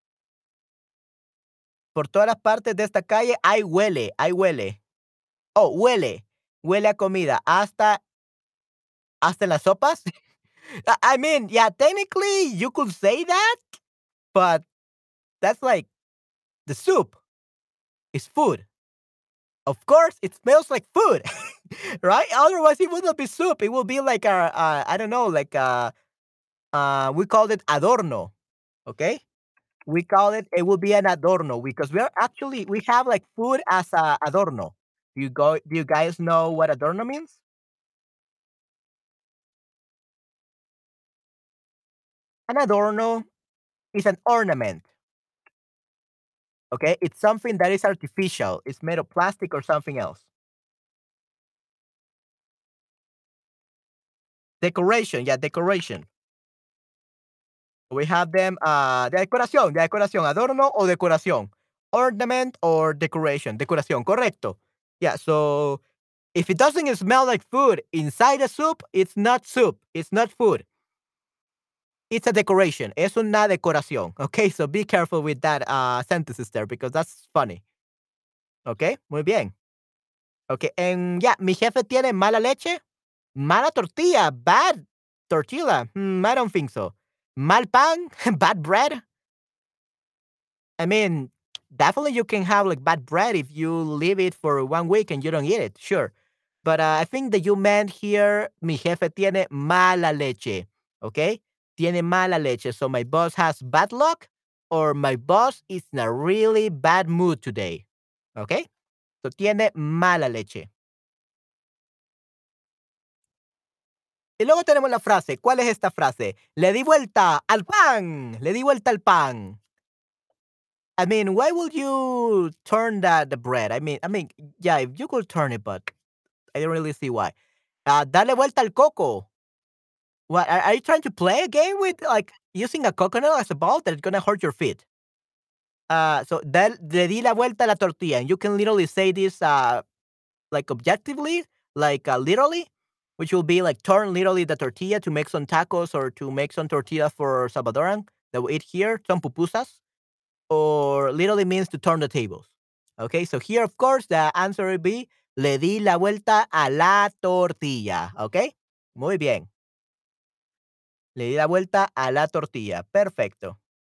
Por todas las partes de esta calle hay huele, hay huele. Oh, huele, huele a comida hasta, hasta en las sopas. I I mean, yeah, technically you could say that, but that's like the soup is food. Of course, it smells like food, right? Otherwise, it would not be soup. It will be like a, a I don't know, like a, uh, we called it adorno. Okay, we call it. It will be an adorno because we are actually we have like food as a adorno. Do you go? Do you guys know what adorno means? An adorno is an ornament. Okay, it's something that is artificial. It's made of plastic or something else. Decoration, yeah, decoration. We have them, uh, de decoración, de decoración, adorno o decoración. Ornament or decoration, decoración, correcto. Yeah, so if it doesn't smell like food inside a soup, it's not soup, it's not food. It's a decoration. Es una decoración. Okay, so be careful with that uh, sentences there because that's funny. Okay, muy bien. Okay, and yeah, mi jefe tiene mala leche, mala tortilla, bad tortilla. Hmm, I don't think so. Mal pan, bad bread. I mean, definitely you can have like bad bread if you leave it for one week and you don't eat it, sure. But uh, I think that you meant here, mi jefe tiene mala leche, okay? Tiene mala leche. So my boss has bad luck or my boss is in a really bad mood today, okay? So tiene mala leche. Y luego tenemos la frase. ¿Cuál es esta frase? Le di vuelta al pan. Le di vuelta al pan. I mean, why would you turn that the bread? I mean, I mean, yeah, if you could turn it, but I don't really see why. Uh, dale vuelta al coco. What are, are you trying to play a game with like using a coconut as a ball that's gonna hurt your feet? Uh, so dal, le di la vuelta a la tortilla, and you can literally say this uh like objectively, like uh, literally, which will be like turn literally the tortilla to make some tacos or to make some tortilla for Salvadoran that we eat here, some pupusas, or literally means to turn the tables. Okay, so here, of course, the answer would be le di la vuelta a la tortilla. Okay, muy bien. Le di la vuelta a la tortilla. Perfecto.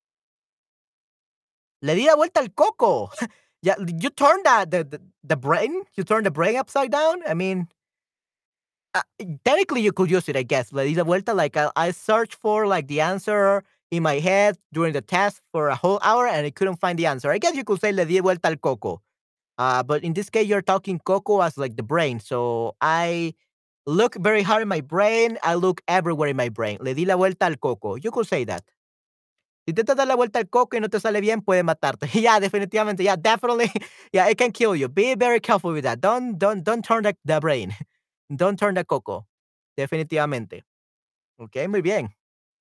Le di la vuelta al coco. Yeah, you turn the, the the the brain. You turn the brain upside down. I mean, uh, technically you could use it, I guess. La di la vuelta, like I, I searched for like the answer in my head during the test for a whole hour and I couldn't find the answer. I guess you could say le di vuelta al coco. Uh, but in this case, you're talking coco as like the brain. So I look very hard in my brain. I look everywhere in my brain. Le di la vuelta al coco. You could say that. Si intentas dar la vuelta al coco y no te sale bien, puede matarte. Yeah, definitivamente. Yeah, definitely. Yeah, it can kill you. Be very careful with that. Don't don't don't turn the, the brain. Don't turn the coco. Definitivamente. Okay, muy bien.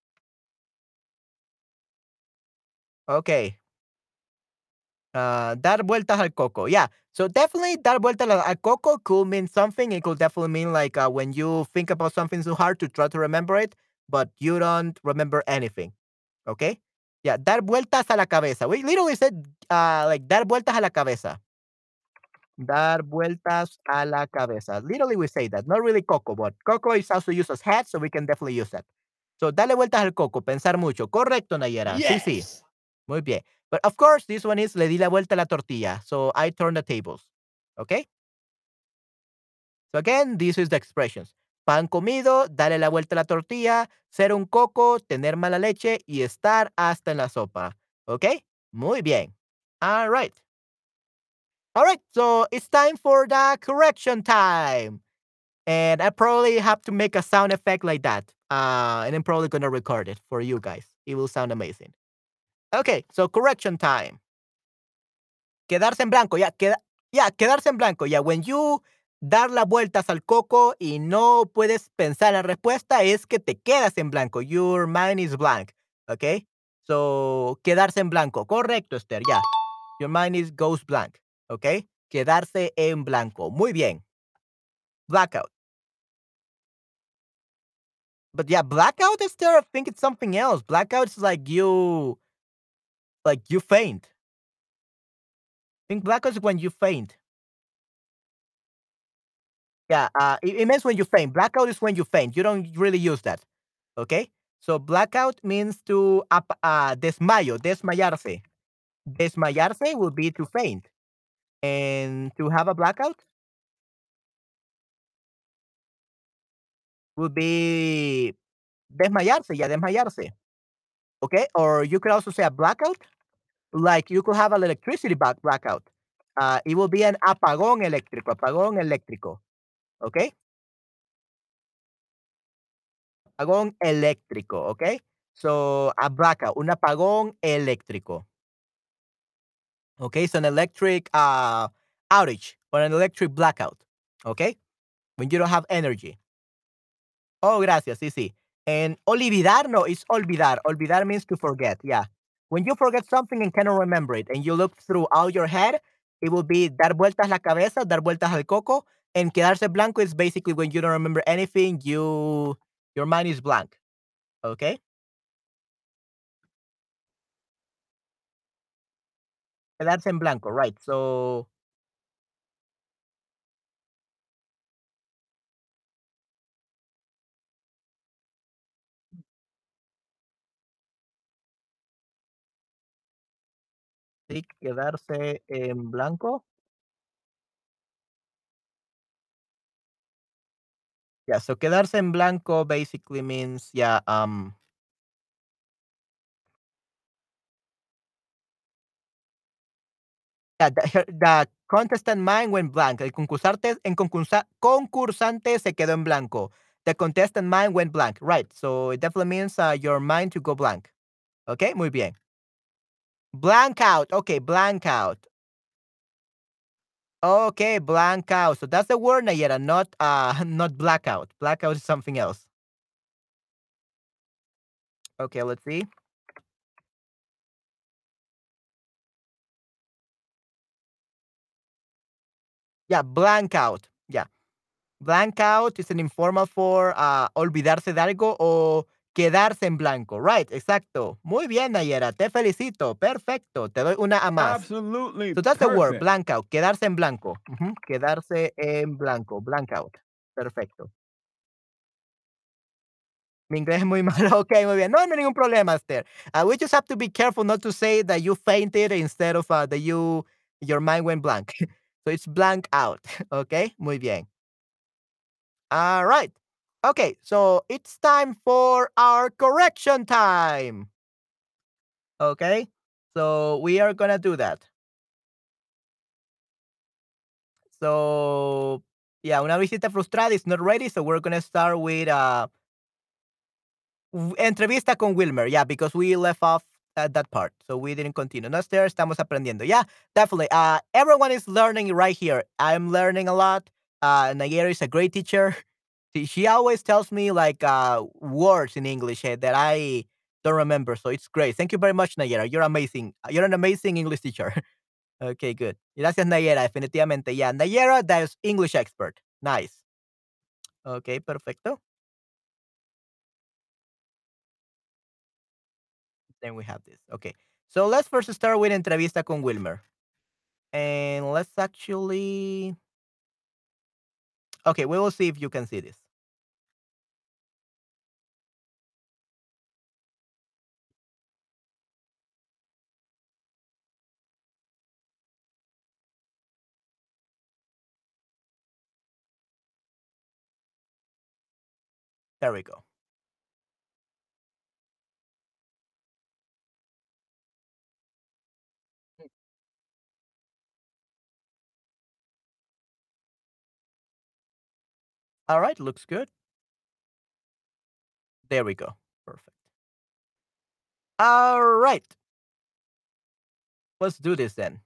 Okay. Uh, dar vueltas al coco. Yeah. So definitely dar vueltas al al coco could mean something. It could definitely mean like uh, when you think about something so hard to try to remember it, but you don't remember anything. Okay. Yeah. Dar vueltas a la cabeza. We literally said uh, like dar vueltas a la cabeza. Dar vueltas a la cabeza. Literally, we say that. Not really coco, but coco is also used as head, so we can definitely use that. So, dale vueltas al coco, pensar mucho. Correcto, Nayera. Sí, sí. Yes. Muy bien. But of course, this one is le di la vuelta a la tortilla. So, I turn the tables. Okay? So, again, this is the expressions. Pan comido, dale la vuelta a la tortilla, ser un coco, tener mala leche y estar hasta en la sopa. Okay? Muy bien. All right. All right, so it's time for the correction time. And I probably have to make a sound effect like that. Uh, and I'm probably going to record it for you guys. It will sound amazing. Okay, so correction time. Quedarse en blanco. Yeah, queda, yeah, quedarse en blanco. Yeah, when you dar las vueltas al coco y no puedes pensar la respuesta, es que te quedas en blanco. Your mind is blank. Okay? So, quedarse en blanco. Correcto, Esther. Yeah. Your mind is goes blank. Okay? Quedarse en blanco. Muy bien. Blackout. But yeah, blackout is there. I think it's something else. Blackout is like you, like you faint. I think blackout is when you faint. Yeah, uh, it, it means when you faint. Blackout is when you faint. You don't really use that. Okay. So blackout means to ap- uh, desmayo, desmayarse. Desmayarse would be to faint, and to have a blackout would be desmayarse. Yeah, desmayarse. Okay. Or you could also say a blackout. Like you could have an electricity back blackout. Uh, it will be an apagón eléctrico, apagón eléctrico. Okay? Apagón eléctrico, okay? So, a blackout, un apagón eléctrico. Okay? So, an electric uh, outage or an electric blackout. Okay? When you don't have energy. Oh, gracias. Sí, sí. And olvidar, no, it's olvidar. Olvidar means to forget. Yeah. When you forget something and cannot remember it, and you look through all your head, it will be dar vueltas la cabeza, dar vueltas al coco, and quedarse blanco is basically when you don't remember anything, you your mind is blank. Okay. quedarse en blanco, right. So, sí, quedarse en blanco. Yeah, so quedarse en blanco basically means, yeah, um, yeah, the, the contestant mind went blank. El concursante, en concursa, concursante se quedó en blanco. The contestant mind went blank. Right. So it definitely means uh, your mind to go blank. Okay, muy bien. Blank out. Okay, blank out. Okay, blank out. So that's the word, Nayera, not uh not blackout. Blackout is something else. Okay, let's see. Yeah, blank out. Yeah. Blank out is an informal for ah, olvidarse de algo o quedarse en blanco. Right, exacto. Muy bien, Nayera. Te felicito. Perfecto. Te doy una a más. Absolutely So that's the word, perfect. blank out. Quedarse en blanco. Ujú, quedarse en blanco. Blank out. Perfecto. Mi inglés es muy malo. Ok, muy bien. No, no hay ningún problema, Esther. Uh, we just have to be careful not to say that you fainted instead of uh, that you your mind went blank. So it's blank out. Ok, muy bien. All right. Okay, so it's time for our correction time. Okay, so we are gonna do that. So yeah, una visita frustrada is not ready, so we're gonna start with uh w- entrevista con Wilmer. Yeah, because we left off at that part, so we didn't continue. No, Esther, estamos aprendiendo. Yeah, definitely. Uh, everyone is learning right here. I'm learning a lot. Uh, Nayera is a great teacher. She, she always tells me like uh words in English eh, that I don't remember, so it's great. Thank you very much, Nayera. You're amazing. You're an amazing English teacher. Okay, good. Gracias, Nayera. Definitivamente. Yeah, Nayera, that is English expert. Nice. Okay, perfecto. Then we have this. Okay. So let's first start with entrevista con Wilmer. And let's actually. Okay, we will see if you can see this. There we go. All right, looks good. There we go. Perfect. All right, let's do this then.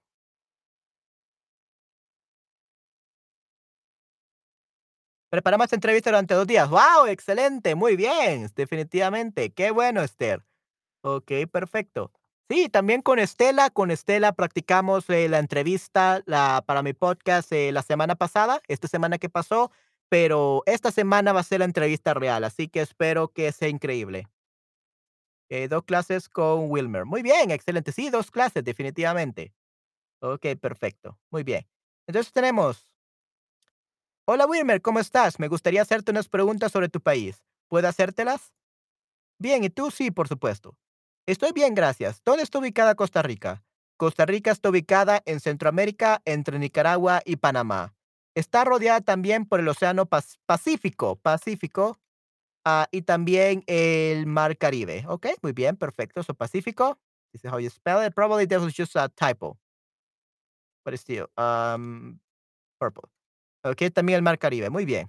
Preparamos esta entrevista durante dos días. ¡Wow! Excelente, muy bien, definitivamente. Qué bueno, Esther. Ok, perfecto. Sí, también con Estela, con Estela practicamos eh, la entrevista la, para mi podcast eh, la semana pasada, esta semana que pasó, pero esta semana va a ser la entrevista real, así que espero que sea increíble. Eh, dos clases con Wilmer. Muy bien, excelente. Sí, dos clases, definitivamente. Ok, perfecto. Muy bien. Entonces tenemos. Hola Wilmer, ¿cómo estás? Me gustaría hacerte unas preguntas sobre tu país. ¿Puedo hacértelas? Bien, ¿y tú? Sí, por supuesto. Estoy bien, gracias. ¿Dónde está ubicada Costa Rica? Costa Rica está ubicada en Centroamérica, entre Nicaragua y Panamá. Está rodeada también por el Océano Pas- Pacífico, Pacífico, ah, y también el Mar Caribe. Ok, muy bien, perfecto. So Pacífico. This is how you spell it. Probably that was just a typo, but it's still um, purple. Ok, también el Mar Caribe. Muy bien.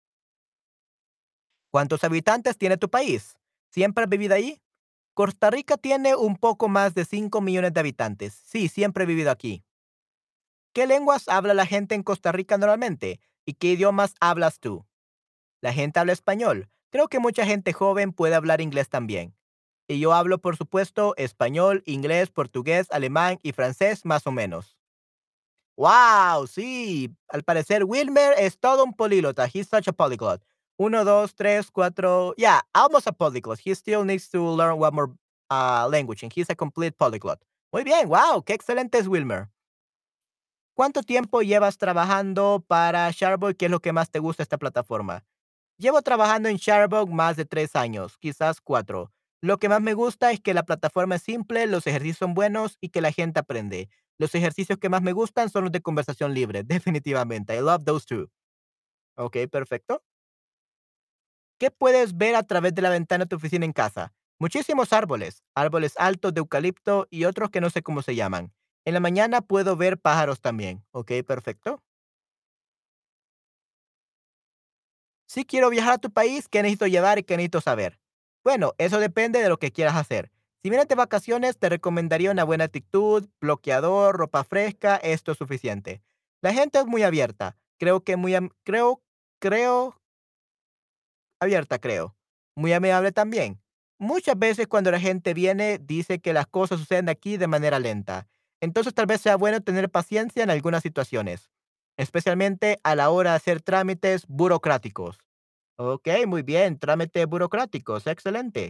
¿Cuántos habitantes tiene tu país? ¿Siempre has vivido ahí? Costa Rica tiene un poco más de cinco millones de habitantes. Sí, siempre he vivido aquí. ¿Qué lenguas habla la gente en Costa Rica normalmente? ¿Y qué idiomas hablas tú? La gente habla español. Creo que mucha gente joven puede hablar inglés también. Y yo hablo, por supuesto, español, inglés, portugués, alemán y francés más o menos. ¡Wow! Sí, al parecer Wilmer es todo un políglota. He's such a polyglot. Uno, dos, tres, cuatro. Yeah, almost a polyglot. He still needs to learn one more uh, language, and he's a complete polyglot. Muy bien, wow, qué excelente es Wilmer. ¿Cuánto tiempo llevas trabajando para Sharebook? ¿Qué es lo que más te gusta de esta plataforma? Llevo trabajando en Sharebook más de tres años, quizás cuatro. Lo que más me gusta es que la plataforma es simple, los ejercicios son buenos y que la gente aprende. Los ejercicios que más me gustan son los de conversación libre, definitivamente. I love those two. Ok, perfecto. ¿Qué puedes ver a través de la ventana de tu oficina en casa? Muchísimos árboles, árboles altos de eucalipto y otros que no sé cómo se llaman. En la mañana puedo ver pájaros también. Ok, perfecto. Si quiero viajar a tu país, ¿qué necesito llevar y qué necesito saber? Bueno, eso depende de lo que quieras hacer. Si vienes de vacaciones, te recomendaría una buena actitud, bloqueador, ropa fresca, esto es suficiente. La gente es muy abierta. Creo que muy, am- creo, creo, abierta, creo. Muy amable también. Muchas veces cuando la gente viene, dice que las cosas suceden aquí de manera lenta. Entonces tal vez sea bueno tener paciencia en algunas situaciones, especialmente a la hora de hacer trámites burocráticos. Ok, muy bien, trámites burocráticos, excelente.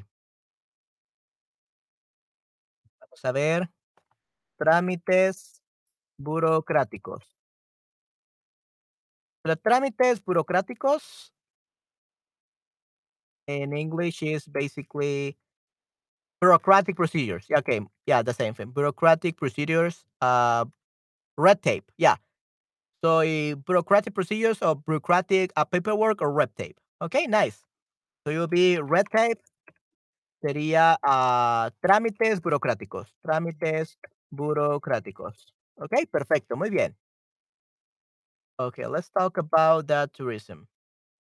Vamos a ver, trámites burocráticos. Los trámites burocráticos in English is basically bureaucratic procedures. Yeah, okay, yeah, the same thing. Bureaucratic procedures, uh, red tape. Yeah. So eh, bureaucratic procedures or bureaucratic uh, paperwork or red tape. Okay, nice. So you'll be red tape sería ah, trámites burocráticos. Trámites burocráticos. Okay, perfecto, muy bien. Okay, let's talk about the tourism.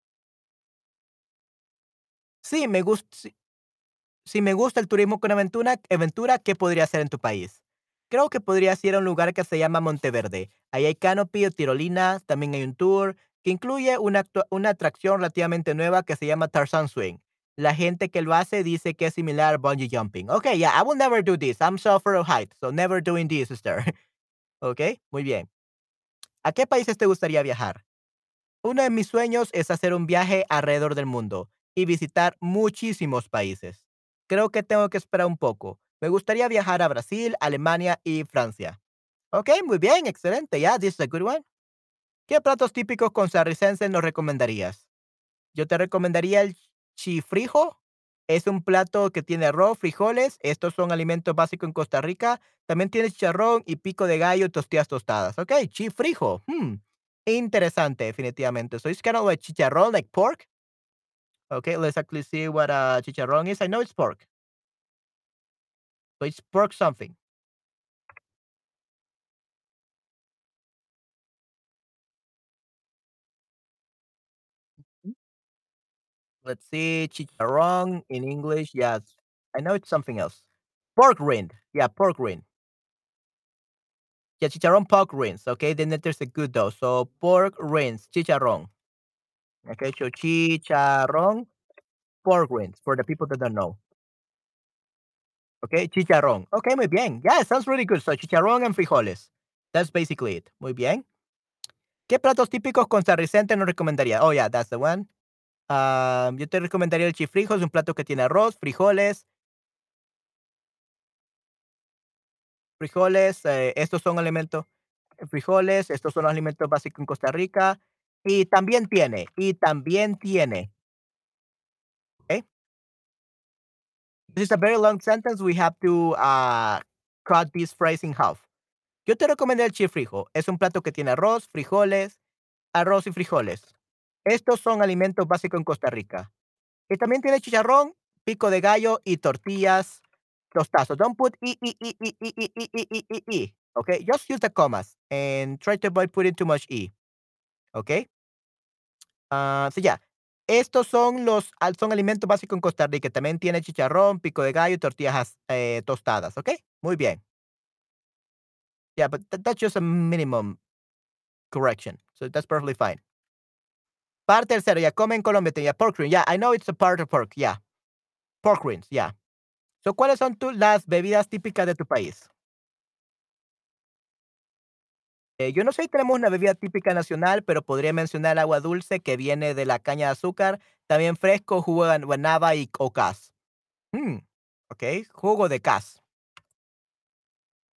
Sí, me gusta. Si me gusta el turismo con aventura, aventura, ¿qué podría hacer en tu país? Creo que podrías ir a un lugar que se llama Monteverde. Ahí hay canopy o tirolinas, también hay un tour que incluye una, actua- una atracción relativamente nueva que se llama Tarzan Swing. La gente que lo hace dice que es similar a bungee jumping. Okay, yeah, I will never do this. I'm so afraid of heights, so never doing this, sister. Okay, muy bien. ¿A qué países te gustaría viajar? Uno de mis sueños es hacer un viaje alrededor del mundo y visitar muchísimos países. Creo que tengo que esperar un poco. Me gustaría viajar a Brasil, Alemania y Francia. Ok, muy bien, excelente. Ya, this is a good one. ¿Qué platos típicos costarricenses nos recomendarías? Yo te recomendaría el chifrijo. Es un plato que tiene arroz, frijoles. Estos son alimentos básicos en Costa Rica. También tiene chicharrón y pico de gallo y tostillas tostadas. Ok, chifrijo. Hmm. Interesante, definitivamente. So it's kind of like chicharrón, like pork. Okay, let's actually see what uh, chicharrón is. I know it's pork. So it's pork something. Let's see. Chicharrón in English. Yes. I know it's something else. Pork rind. Yeah, pork rind. Yeah, chicharrón pork rinds. Okay, then there's a good though. So pork rinds, chicharrón. Okay, so chicharrón, pork rinds for the people that don't know. Okay, chicharrón. Okay, muy bien. Yeah, it sounds really good. So chicharrón and frijoles. That's basically it. Muy bien. ¿Qué platos típicos costarricenses nos recomendaría? Oh, yeah, that's the one. Ah, yo te recomendaría el chifrijo, es un plato que tiene arroz, frijoles, frijoles, eh, estos son alimentos, frijoles, estos son los alimentos básicos en Costa Rica. Y también tiene, y también tiene, ¿ok? This is a very long sentence. We have to uh, cut this phrase in half. Yo te recomiendo el chifrijo. Es un plato que tiene arroz, frijoles, arroz y frijoles. Estos son alimentos básicos en Costa Rica. Y también tiene chicharrón, pico de gallo y tortillas tostadas. So don't put e, e, e, e, e, e, e, e, e, e, e. Okay, just use the commas and try to avoid putting too much e. Okay. Ah, sí, ya. Estos son los al- son alimentos básicos en Costa Rica. También tiene chicharrón, pico de gallo y tortillas eh, tostadas. Okay. Muy bien. Yeah, but that- that's just a minimum correction. So that's perfectly fine. Parte tercero, ya come en Colombia, tenía pork ring. Yeah, I know it's a part of pork. Yeah, pork rings. Yeah. So, ¿cuáles son tu las bebidas típicas de tu país? Eh, yo no sé si tenemos una bebida típica nacional, pero podría mencionar agua dulce que viene de la caña de azúcar, también fresco, jugo de guanábana y o cas. Mm, okey, jugo de cas.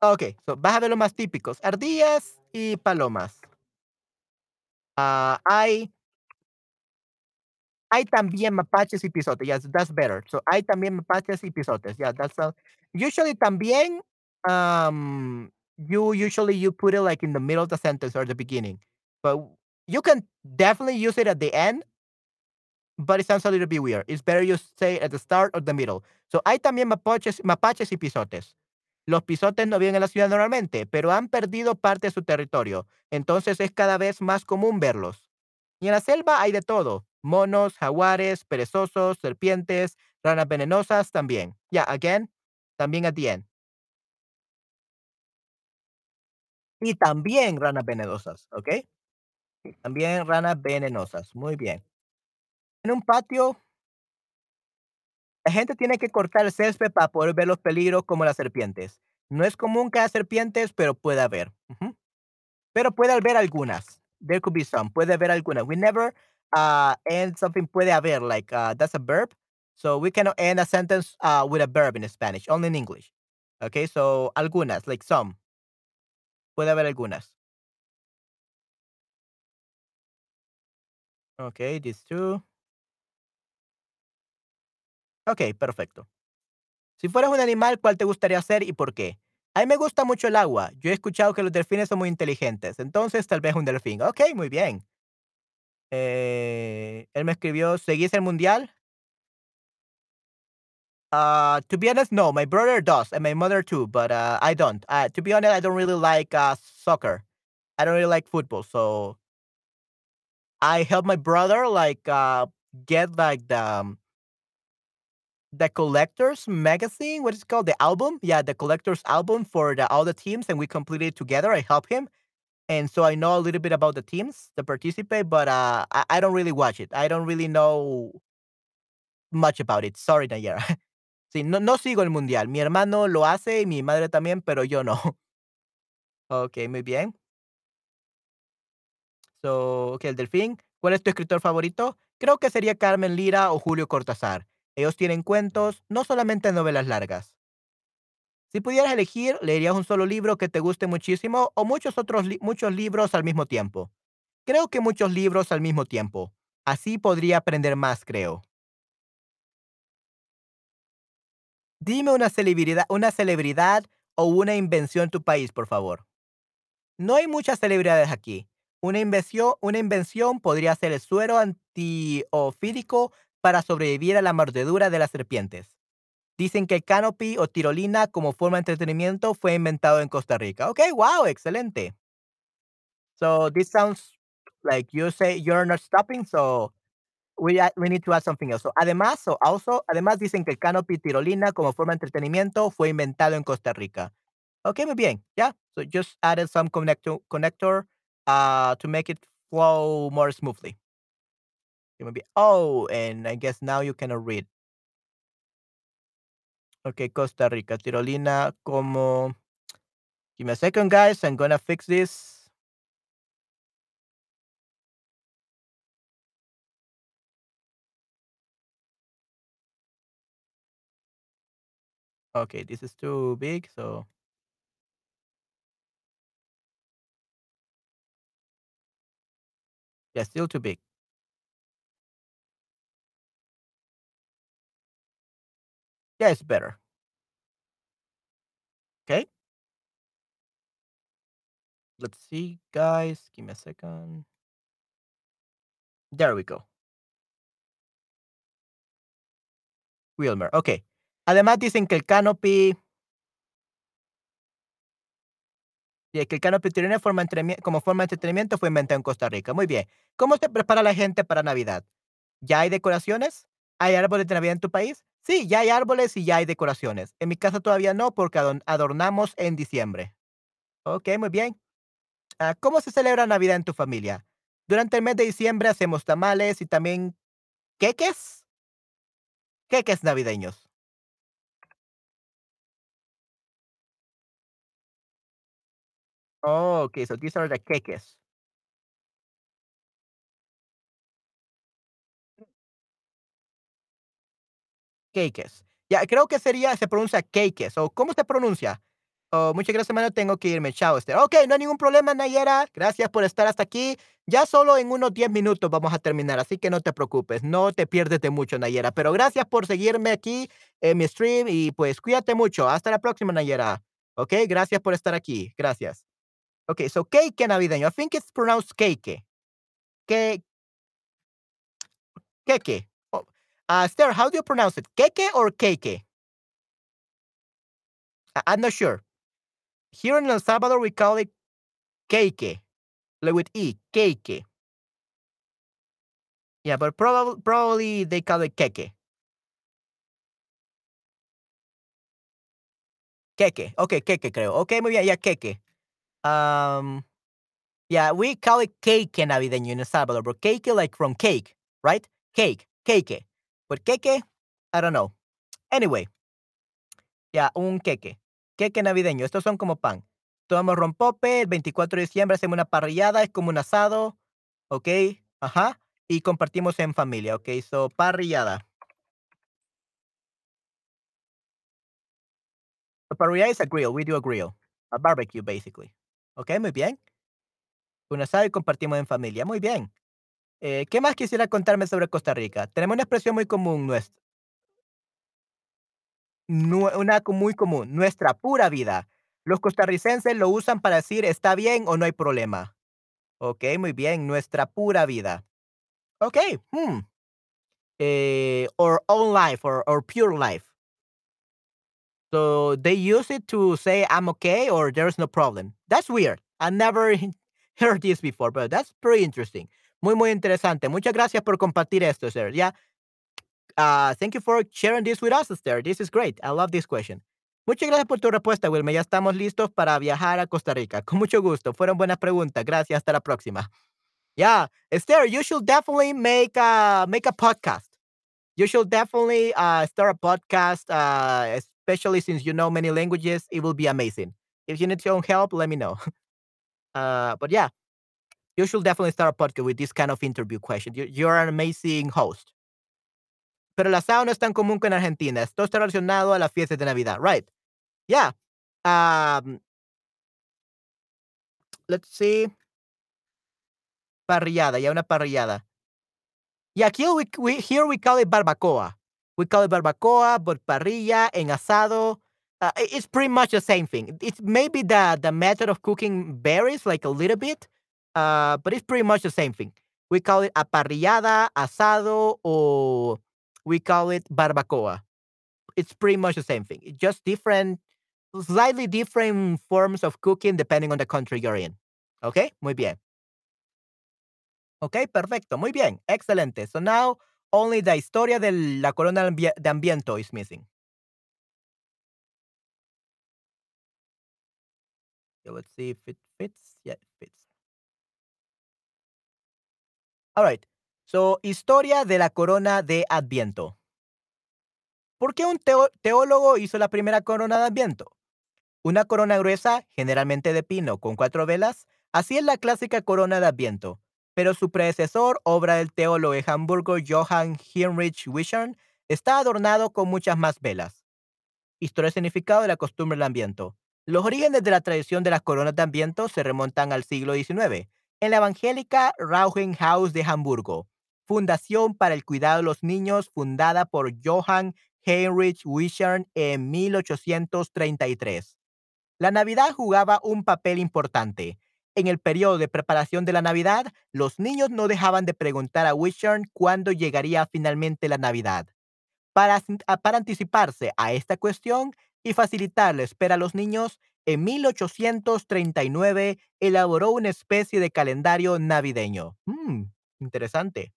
Okey, so, vas a ver los más típicos, ardillas y palomas. Ah, hay hay también mapaches y pisotes, yes, that's better. So, hay también mapaches y pisotes, yeah, that's a usually también, um, you usually you put it, like, in the middle of the sentence or the beginning, but you can definitely use it at the end, but it sounds a little bit weird. It's better you say at the start or the middle. So, hay también mapaches mapaches y pisotes. Los pisotes no viven en la ciudad normalmente, pero han perdido parte de su territorio, entonces es cada vez más común verlos. Y en la selva hay de todo, monos, jaguares, perezosos, serpientes, ranas venenosas también. Yeah, again, también at the end. Y también ranas venenosas, ¿ok? También ranas venenosas, muy bien. En un patio, la gente tiene que cortar el césped para poder ver los peligros como las serpientes. No es común que haya serpientes, pero puede haber. Ujú. Pero puede haber algunas. There could be some. Puede haber algunas. We never uh, end something puede haber, like uh, that's a verb. So we cannot end a sentence uh, with a verb in Spanish, only in English. Okay, so algunas, like some. Puede haber algunas. Okay, these two. Okay, perfecto. Si fueras un animal, ¿cuál te gustaría ser y por qué? A mí me gusta mucho el agua. Yo he escuchado que los delfines son muy inteligentes. Entonces, tal vez un delfín. Ok, muy bien. Eh, él me escribió, ¿seguís el mundial? Uh, to be honest, no. My brother does, and my mother too, but uh, I don't. Uh, to be honest, I don't really like uh, soccer. I don't really like football, so I help my brother like uh, get like the um, the collectors magazine. What is it called? The album? Yeah, the collectors album for the, all the teams, and we completed it together. I help him, and so I know a little bit about the teams that participate, but uh, I, I don't really watch it. I don't really know much about it. Sorry, Nayara. Sí, no, no sigo el mundial. Mi hermano lo hace y mi madre también, pero yo no. Okey, muy bien. So, okey, el delfín. ¿Cuál es tu escritor favorito? Creo que sería Carmen Lira o Julio Cortázar. Ellos tienen cuentos, no solamente novelas largas. Si pudieras elegir, ¿leerías un solo libro que te guste muchísimo o muchos otros li muchos libros al mismo tiempo? Creo que muchos libros al mismo tiempo. Así podría aprender más, creo. Dime una celebridad una celebridad o una invención en tu país, por favor. No hay muchas celebridades aquí. Una invención, una invención podría ser el suero antiofídico para sobrevivir a la mordedura de las serpientes. Dicen que el canopy o tirolina como forma de entretenimiento fue inventado en Costa Rica. Ok, wow, excelente. So this sounds like you say you're not stopping, so we, a- we need to add something else. So, además, so also, además dicen que el canopy tirolina como forma de entretenimiento fue inventado en Costa Rica. Okay, muy bien. Yeah. So just added some connector connector uh to make it flow more smoothly. Okay, muy bien. Oh, and I guess now you cannot read. Okay, Costa Rica, tirolina como. Give me a second, guys. I'm gonna fix this. Okay, this is too big, so yeah, still too big. Yeah, it's better. Okay, let's see, guys. Give me a second. There we go. Wilmer. Okay. Además dicen que el canopy Y que el canopy tirolina forma entremie como forma de entretenimiento fue inventado en Costa Rica. Muy bien. ¿Cómo se prepara la gente para Navidad? ¿Ya hay decoraciones? ¿Hay árboles de Navidad en tu país? Sí, ya hay árboles y ya hay decoraciones. En mi casa todavía no, porque adon adornamos en diciembre. Okey, muy bien. Ah, ¿cómo se celebra Navidad en tu familia? Durante el mes de diciembre hacemos tamales y también queques, queques navideños. Oh, okey, so these are the queques. Queques. Ya, creo que sería se pronuncia queques, ¿o cómo se pronuncia? Oh, muchas gracias, hermano. Tengo que irme. Chao, Esther. Ok, no hay ningún problema, Nayera. Gracias por estar hasta aquí. Ya solo en unos diez minutos vamos a terminar, así que no te preocupes. No te pierdes de mucho, Nayera. Pero gracias por seguirme aquí en mi stream y pues cuídate mucho. Hasta la próxima, Nayera. Ok, gracias por estar aquí. Gracias. Ok, so cake navideño. I think it's pronounced cake. Que, Keke. Oh, uh, Esther, how do you pronounce it? Keke or cake? I- I'm not sure. Here in El Salvador, we call it cake, like with E, cake. Yeah, but probably probably they call it keke. Keke. Okay, keke creo. Okay, muy bien, yeah, keke. Um, yeah, we call it cake navideño in El Salvador, but cake like from cake, right? Cake, cake. But keke, I don't know. Anyway, yeah, un queque. Queque navideño. Estos son como pan. Tomamos rompope, el veinticuatro de diciembre hacemos una parrillada, es como un asado, ¿ok? Ajá. Y compartimos en familia, ¿ok? So, parrillada. A parrilla is a grill. We do a grill. A barbecue, basically. ¿Ok? Muy bien. Un asado y compartimos en familia. Muy bien. Eh, ¿qué más quisiera contarme sobre Costa Rica? Tenemos una expresión muy común, nuestra, una co- muy común, nuestra pura vida. Los costarricenses lo usan para decir está bien o no hay problema. Ok, muy bien, nuestra pura vida. Ok, hmm. Eh, or own life or, or pure life. So they use it to say I'm okay or there's no problem. That's weird. I never heard this before, but that's pretty interesting. Muy, muy interesante. Muchas gracias por compartir esto, sir. Yeah. Uh, thank you for sharing this with us, Esther. This is great. I love this question. Muchas gracias por tu respuesta, Wilmer. Ya estamos listos para viajar a Costa Rica. Con mucho gusto. Fueron buenas preguntas. Gracias. Hasta la próxima. Yeah, Esther, you should definitely make a make a podcast. You should definitely uh, start a podcast, uh, especially since you know many languages. It will be amazing. If you need your own help, let me know. Uh, but yeah, you should definitely start a podcast with this kind of interview question. You, you're an amazing host. Pero el asado no es tan común que en Argentina. Esto está relacionado a las fiestas de Navidad, right? Yeah. Um, let's see. Parrillada, ya una parrillada. Yeah, here we, we here we call it barbacoa. We call it barbacoa, but parrilla en asado. Uh, i- it's pretty much the same thing. It's maybe the the method of cooking varies like a little bit, uh, but it's pretty much the same thing. We call it a parrillada, asado, or we call it barbacoa. It's pretty much the same thing. It's just different, slightly different forms of cooking depending on the country you're in. Okay, muy bien. Ok, perfecto, muy bien, excelente. So now only the historia de la corona ambie- de Ambiento is missing. Okay, let's see if it fits. Yeah, it fits. All right. So, historia de la corona de Adviento. ¿Por qué un teo- teólogo hizo la primera corona de Adviento? Una corona gruesa, generalmente de pino, con cuatro velas. Así es la clásica corona de Adviento. Pero su predecesor, obra del teólogo de Hamburgo Johann Heinrich Wishern, está adornado con muchas más velas. Historia y significado de la costumbre del Adviento. Los orígenes de la tradición de las coronas de Adviento se remontan al siglo diecinueve, en la evangélica Rauhenhaus de Hamburgo, fundación para el cuidado de los niños fundada por Johann Heinrich Wishern en mil ochocientos treinta y tres. La Navidad jugaba un papel importante. En el periodo de preparación de la Navidad, los niños no dejaban de preguntar a Wishern cuándo llegaría finalmente la Navidad. Para, asin- a- para anticiparse a esta cuestión y facilitar la espera a los niños, en mil ochocientos treinta y nueve elaboró una especie de calendario navideño. Mm, interesante.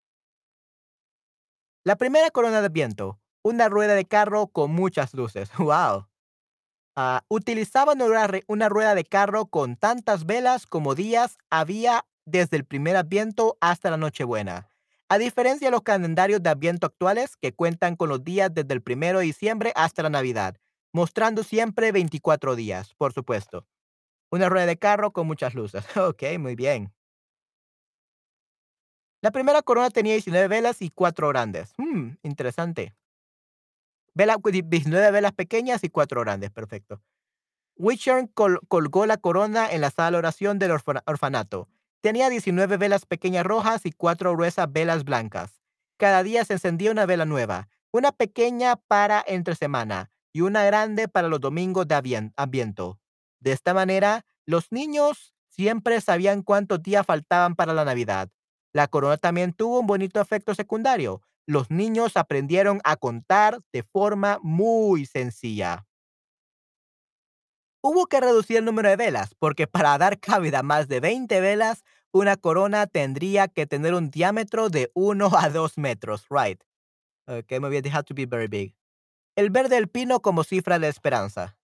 La primera corona de viento, una rueda de carro con muchas luces. ¡Wow! Ah, utilizaban una, re- una rueda de carro con tantas velas como días había desde el primer Adviento hasta la Nochebuena. A diferencia de los calendarios de Adviento actuales, que cuentan con los días desde el primero de diciembre hasta la Navidad, mostrando siempre veinticuatro días, por supuesto. Una rueda de carro con muchas luces. Ok, muy bien. La primera corona tenía diecinueve velas y cuatro grandes. Hmm, interesante. Vela, diecinueve velas pequeñas y cuatro grandes. Perfecto. Wichern col- colgó la corona en la sala de oración del orfana- orfanato. Tenía diecinueve velas pequeñas rojas y cuatro gruesas velas blancas. Cada día se encendía una vela nueva, una pequeña para entre semana y una grande para los domingos de avien- Adviento. De esta manera, los niños siempre sabían cuántos días faltaban para la Navidad. La corona también tuvo un bonito efecto secundario. Los niños aprendieron a contar de forma muy sencilla. Hubo que reducir el número de velas, porque para dar cabida a más de veinte velas, una corona tendría que tener un diámetro de uno a dos metros, right? Okay, muy bien, they have to be very big. El verde del pino como cifra de la esperanza.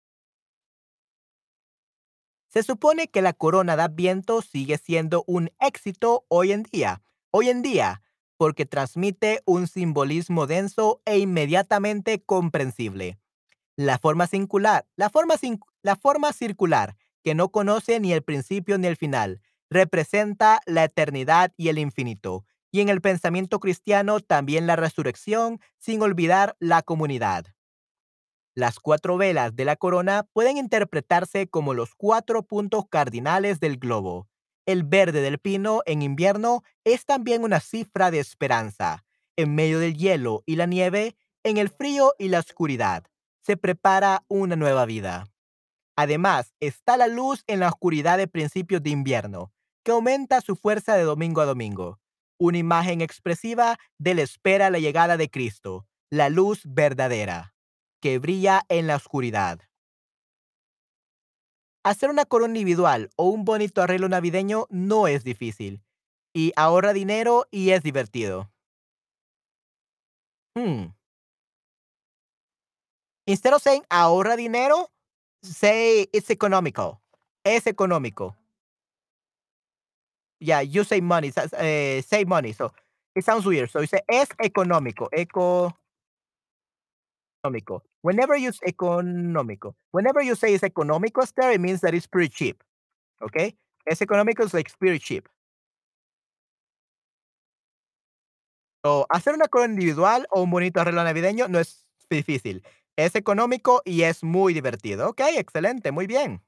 Se supone que la corona de Adviento sigue siendo un éxito hoy en día. Hoy en día, porque transmite un simbolismo denso e inmediatamente comprensible. La forma circular, la forma, cin- la forma circular, que no conoce ni el principio ni el final, representa la eternidad y el infinito. Y en el pensamiento cristiano también la resurrección, sin olvidar la comunidad. Las cuatro velas de la corona pueden interpretarse como los cuatro puntos cardinales del globo. El verde del pino en invierno es también una cifra de esperanza. En medio del hielo y la nieve, en el frío y la oscuridad, se prepara una nueva vida. Además, está la luz en la oscuridad de principios de invierno, que aumenta su fuerza de domingo a domingo. Una imagen expresiva de la espera a la llegada de Cristo, la luz verdadera, que brilla en la oscuridad. Hacer una corona individual o un bonito arreglo navideño no es difícil, y ahorra dinero y es divertido. Hmm. Instead of saying ahorra dinero, say it's economical. Es económico. Yeah, you say money, sa- eh, save money. So it sounds weird. So you say es económico, económico. Whenever you s- económico, whenever you say it's económico, Esther, it means that it's pretty cheap. Okay, es económico is like pretty cheap. So hacer una corona individual o un bonito arreglo navideño no es difícil. Es económico y es muy divertido. Ok, excelente, muy bien.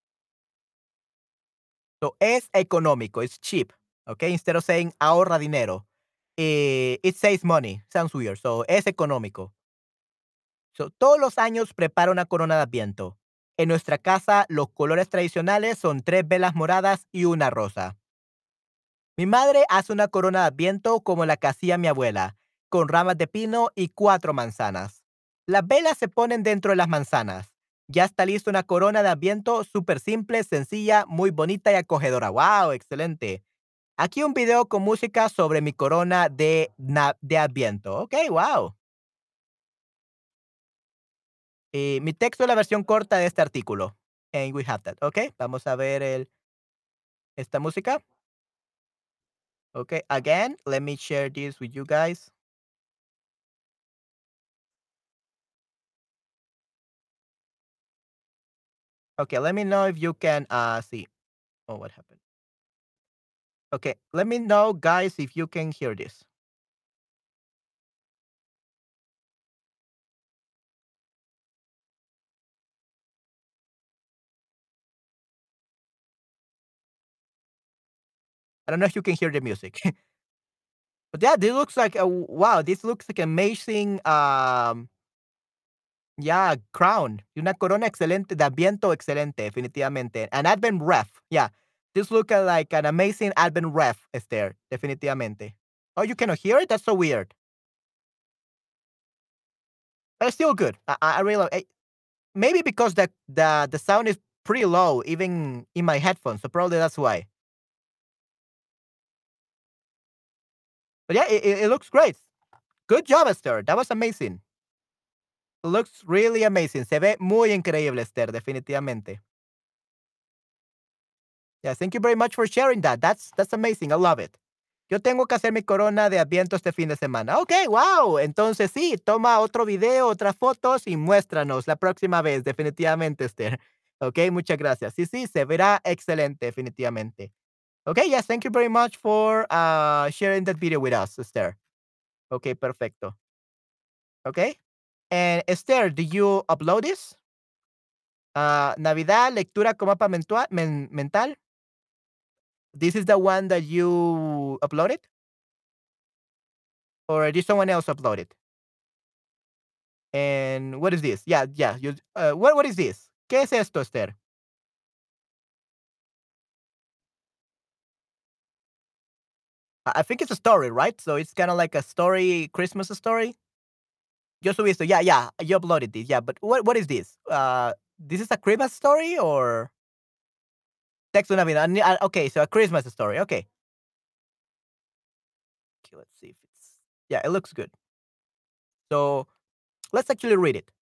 So es económico, it's cheap. Okay, instead of saying ahorra dinero, eh, it saves money. Sounds weird. So es económico. So, todos los años preparo una corona de Adviento. En nuestra casa, los colores tradicionales son tres velas moradas y una rosa. Mi madre hace una corona de Adviento como la que hacía mi abuela, con ramas de pino y cuatro manzanas. Las velas se ponen dentro de las manzanas. Ya está lista una corona de Adviento súper simple, sencilla, muy bonita y acogedora. ¡Wow! Excelente. Aquí un video con música sobre mi corona de, na- de Adviento. Ok, wow. Eh, mi texto es la versión corta de este artículo. And we have that. Ok, vamos a ver el, esta música. Ok, again, let me share this with you guys. Okay, let me know if you can uh see. Oh, what happened? Okay, let me know, guys, if you can hear this. I don't know if you can hear the music. But yeah, this looks like a wow, this looks like amazing um yeah, crown. Y una corona excelente, de Adviento excelente, definitivamente. An Advent ref. Yeah. This look uh, like an amazing Advent ref, Esther, definitivamente. Oh, you cannot hear it? That's so weird. But it's still good. I, I I really love it. Maybe because the, the the sound is pretty low, even in my headphones. So probably that's why. But yeah, it, it it looks great. Good job, Esther. That was amazing. Looks really amazing. Se ve muy increíble, Esther, definitivamente. Yeah, thank you very much for sharing that. That's that's amazing. I love it. Yo tengo que hacer mi corona de Adviento este fin de semana. Ok, wow. Entonces sí, toma otro video, otras fotos y muéstranos la próxima vez, definitivamente, Esther. Ok, muchas gracias. Sí, sí, se verá excelente, definitivamente. Okay, yes, thank you very much for uh, sharing that video with us, Esther. Okay, perfecto. Okay. And Esther, did you upload this? Ah, Navidad, lectura con mapa mentua- men- mental. This is the one that you uploaded? Or did someone else upload it? And what is this? Yeah, yeah. You, uh, what, what is this? ¿Qué es esto, Esther? I I think it's a story, right? So it's kind of like a story, Christmas story. Yo subí esto. Yeah, yeah. You uploaded this. Yeah, but what what is this? Uh, this is a Christmas story or texto Navidad? Ni- uh, Okay, so a Christmas story. Okay. Okay, let's see if it's. Yeah, it looks good. So let's actually read it.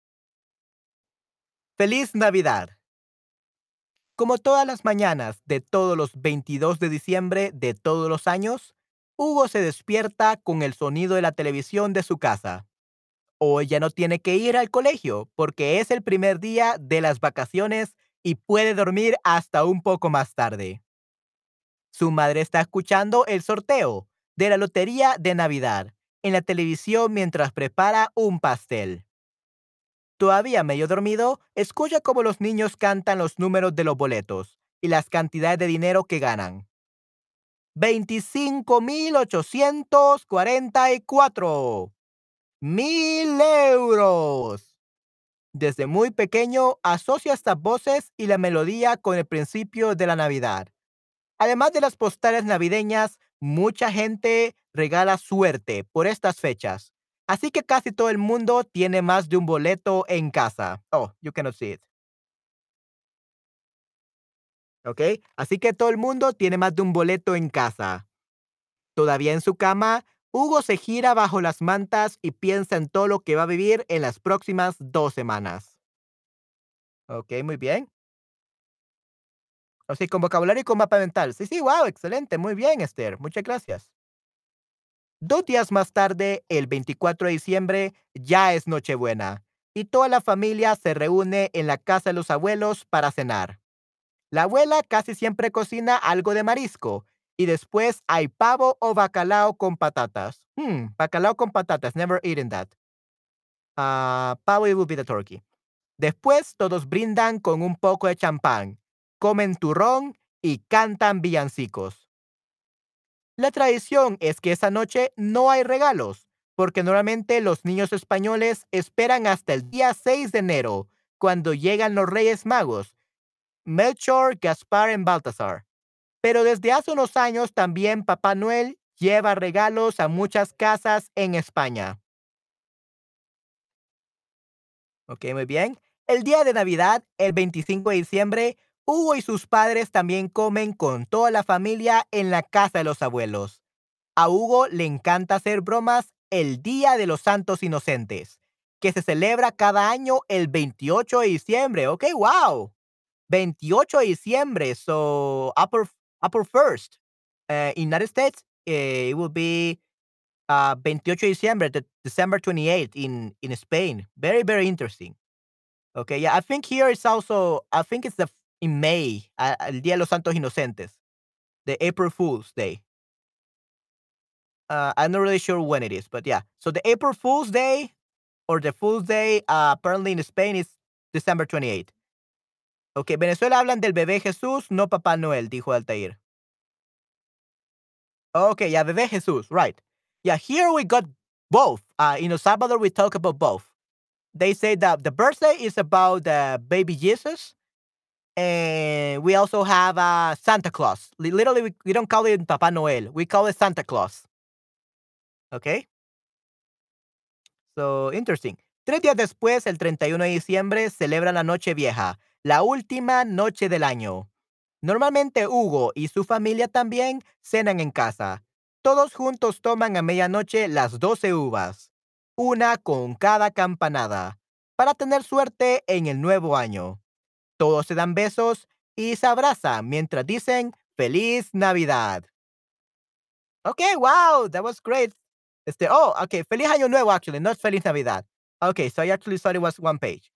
Feliz Navidad. Como todas las mañanas de todos los veintidós de diciembre de todos los años, Hugo se despierta con el sonido de la televisión de su casa. Hoy ya no tiene que ir al colegio porque es el primer día de las vacaciones y puede dormir hasta un poco más tarde. Su madre está escuchando el sorteo de la lotería de Navidad en la televisión mientras prepara un pastel. Todavía medio dormido, escucha cómo los niños cantan los números de los boletos y las cantidades de dinero que ganan. Veinticinco mil ochocientos cuarenta y cuatro mil euros. Desde muy pequeño asocia estas voces y la melodía con el principio de la Navidad. Además de las postales navideñas, mucha gente regala suerte por estas fechas. Así que casi todo el mundo tiene más de un boleto en casa. Oh, you cannot see it. ¿Ok? Así que todo el mundo tiene más de un boleto en casa. Todavía en su cama, Hugo se gira bajo las mantas y piensa en todo lo que va a vivir en las próximas dos semanas. Ok, muy bien. O sea, con vocabulario y con mapa mental. Sí, sí, wow, excelente. Muy bien, Esther. Muchas gracias. Dos días más tarde, el veinticuatro de diciembre, ya es Nochebuena, y toda la familia se reúne en la casa de los abuelos para cenar. La abuela casi siempre cocina algo de marisco, y después hay pavo o bacalao con patatas. Hmm, bacalao con patatas, never eaten that. Ah, pavo it will be the turkey. Después todos brindan con un poco de champán, comen turrón y cantan villancicos. La tradición es que esa noche no hay regalos, porque normalmente los niños españoles esperan hasta el día seis de enero, cuando llegan los Reyes Magos, Melchor, Gaspar y Baltasar. Pero desde hace unos años también Papá Noel lleva regalos a muchas casas en España. Ok, muy bien. El día de Navidad, el veinticinco de diciembre, Hugo y sus padres también comen con toda la familia en la casa de los abuelos. A Hugo le encanta hacer bromas el Día de los Santos Inocentes, que se celebra cada año el veintiocho de diciembre. Ok, wow. veintiocho de diciembre, so upper, upper first. Uh, in United States, eh, it will be uh, veintiocho de diciembre, de- December twenty-eighth in, in Spain. Very, very interesting. Okay, yeah, I think here it's also, I think it's the f- in May, uh, el Día de los Santos Inocentes, the April Fool's Day. Uh, I'm not really sure when it is, but yeah. So the April Fool's Day or the Fool's Day, uh, apparently in Spain is December twenty-eighth. Okay, Venezuela hablan del bebé Jesús, no Papá Noel, dijo Altair. Okay, yeah, bebé Jesús, right. Yeah, here we got both. Uh, in El Salvador, we talk about both. They say that the birthday is about the baby Jesus, and we also have uh, Santa Claus. Li- Literally, we, we don't call it Papa Noel. We call it Santa Claus. Okay? So, interesting. Tres días después, el treinta y uno de diciembre, celebran la Noche Vieja, la última noche del año. Normalmente Hugo y su familia también cenan en casa. Todos juntos toman a medianoche las doce uvas, una con cada campanada, para tener suerte en el nuevo año. Todos se dan besos y se abrazan mientras dicen Feliz Navidad. Okay, wow, that was great. Este, oh, okay, Feliz Año Nuevo, actually, not Feliz Navidad. Okay, so I actually thought it was one page.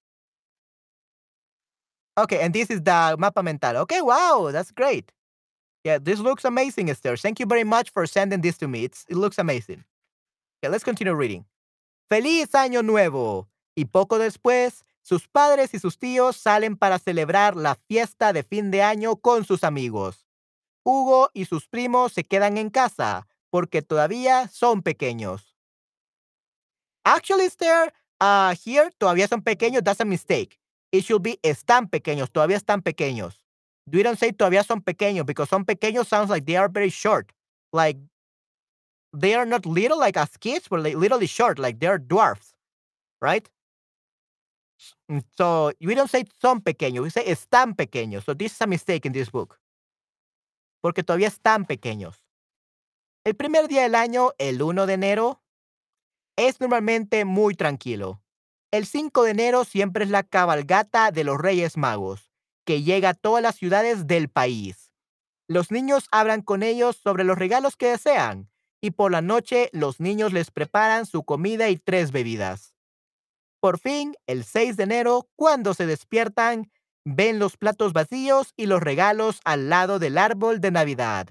Okay, and this is the mapa mental. Okay, wow, that's great. Yeah, this looks amazing, Esther. Thank you very much for sending this to me. It's, it looks amazing. Okay, let's continue reading. Feliz Año Nuevo. Y poco después Sus padres y sus tíos salen para celebrar la fiesta de fin de año con sus amigos. Hugo y sus primos se quedan en casa porque todavía son pequeños. Actually, Esther, uh, here todavía son pequeños. That's a mistake. It should be están pequeños. Todavía están pequeños. We don't say todavía son pequeños because son pequeños sounds like they are very short. Like they are not little like as kids, but like literally short, like they're dwarfs, right? Mm, So we don't say son pequeños, we say están pequeños. So this is a mistake in this book. Porque todavía están pequeños. El primer día del año, el uno de enero, es normalmente muy tranquilo. El cinco de enero siempre es la cabalgata de los Reyes Magos, que llega a todas las ciudades del país. Los niños hablan con ellos sobre los regalos que desean, y por la noche los niños les preparan su comida y tres bebidas. Por fin, el seis de enero, cuando se despiertan, ven los platos vacíos y los regalos al lado del árbol de Navidad.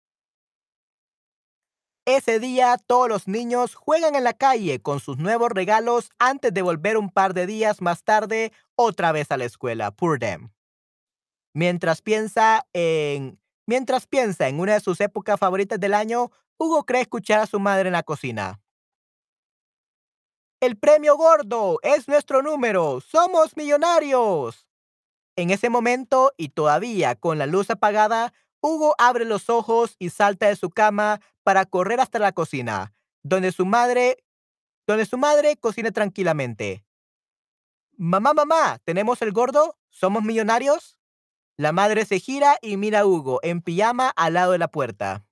Ese día, todos los niños juegan en la calle con sus nuevos regalos antes de volver un par de días más tarde otra vez a la escuela. Poor them. Mientras piensa en mientras piensa en una de sus épocas favoritas del año, Hugo cree escuchar a su madre en la cocina. El premio gordo es nuestro número. Somos millonarios. En ese momento, y todavía con la luz apagada, Hugo abre los ojos y salta de su cama para correr hasta la cocina, donde su madre, donde su madre cocina tranquilamente. Mamá, mamá, ¿tenemos el gordo? ¿Somos millonarios? La madre se gira y mira a Hugo en pijama al lado de la puerta.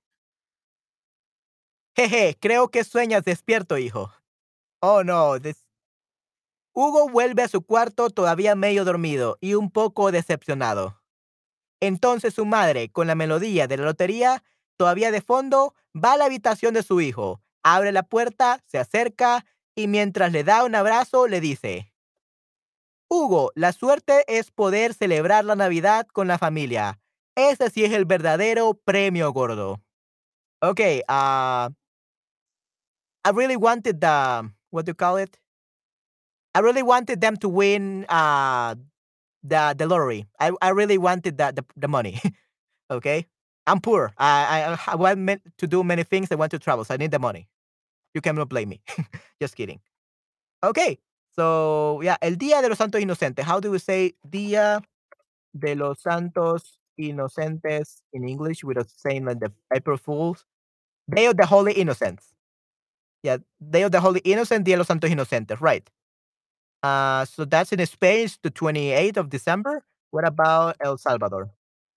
Jeje, creo que sueñas despierto, hijo. Oh no. des- Hugo vuelve a su cuarto todavía medio dormido y un poco decepcionado. Entonces su madre, con la melodía de la lotería todavía de fondo, va a la habitación de su hijo, abre la puerta, se acerca y mientras le da un abrazo le dice, Hugo, la suerte es poder celebrar la Navidad con la familia. Ese sí es el verdadero premio gordo. Okay, uh, I really wanted the, what do you call it? I really wanted them to win uh, the, the lottery. I, I really wanted the, the, the money. Okay? I'm poor. I, I I want meant to do many things. I want to travel, so I need the money. You cannot blame me. Just kidding. Okay. So yeah, el Día de los Santos Inocentes. How do we say Día de los Santos Inocentes in English without saying like the April Fools? Day of the Holy Innocents. Yeah, Day of the Holy Innocent, Día de los Santos Inocentes. Right. Uh, so that's in Spain, it's the twenty-eighth of December. What about El Salvador?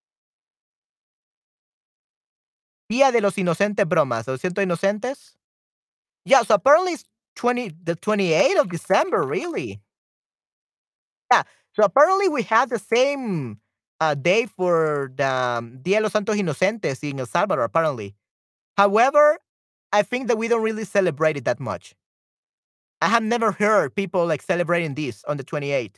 Día de los Inocentes Bromas. ¿Los Cientos Inocentes? Yeah, so apparently it's twenty the twenty-eighth of December, really. Yeah. So apparently we have the same uh, day for the um, Dia de los Santos Inocentes in El Salvador, apparently. However, I think that we don't really celebrate it that much. I have never heard people like celebrating this on the twenty-eighth.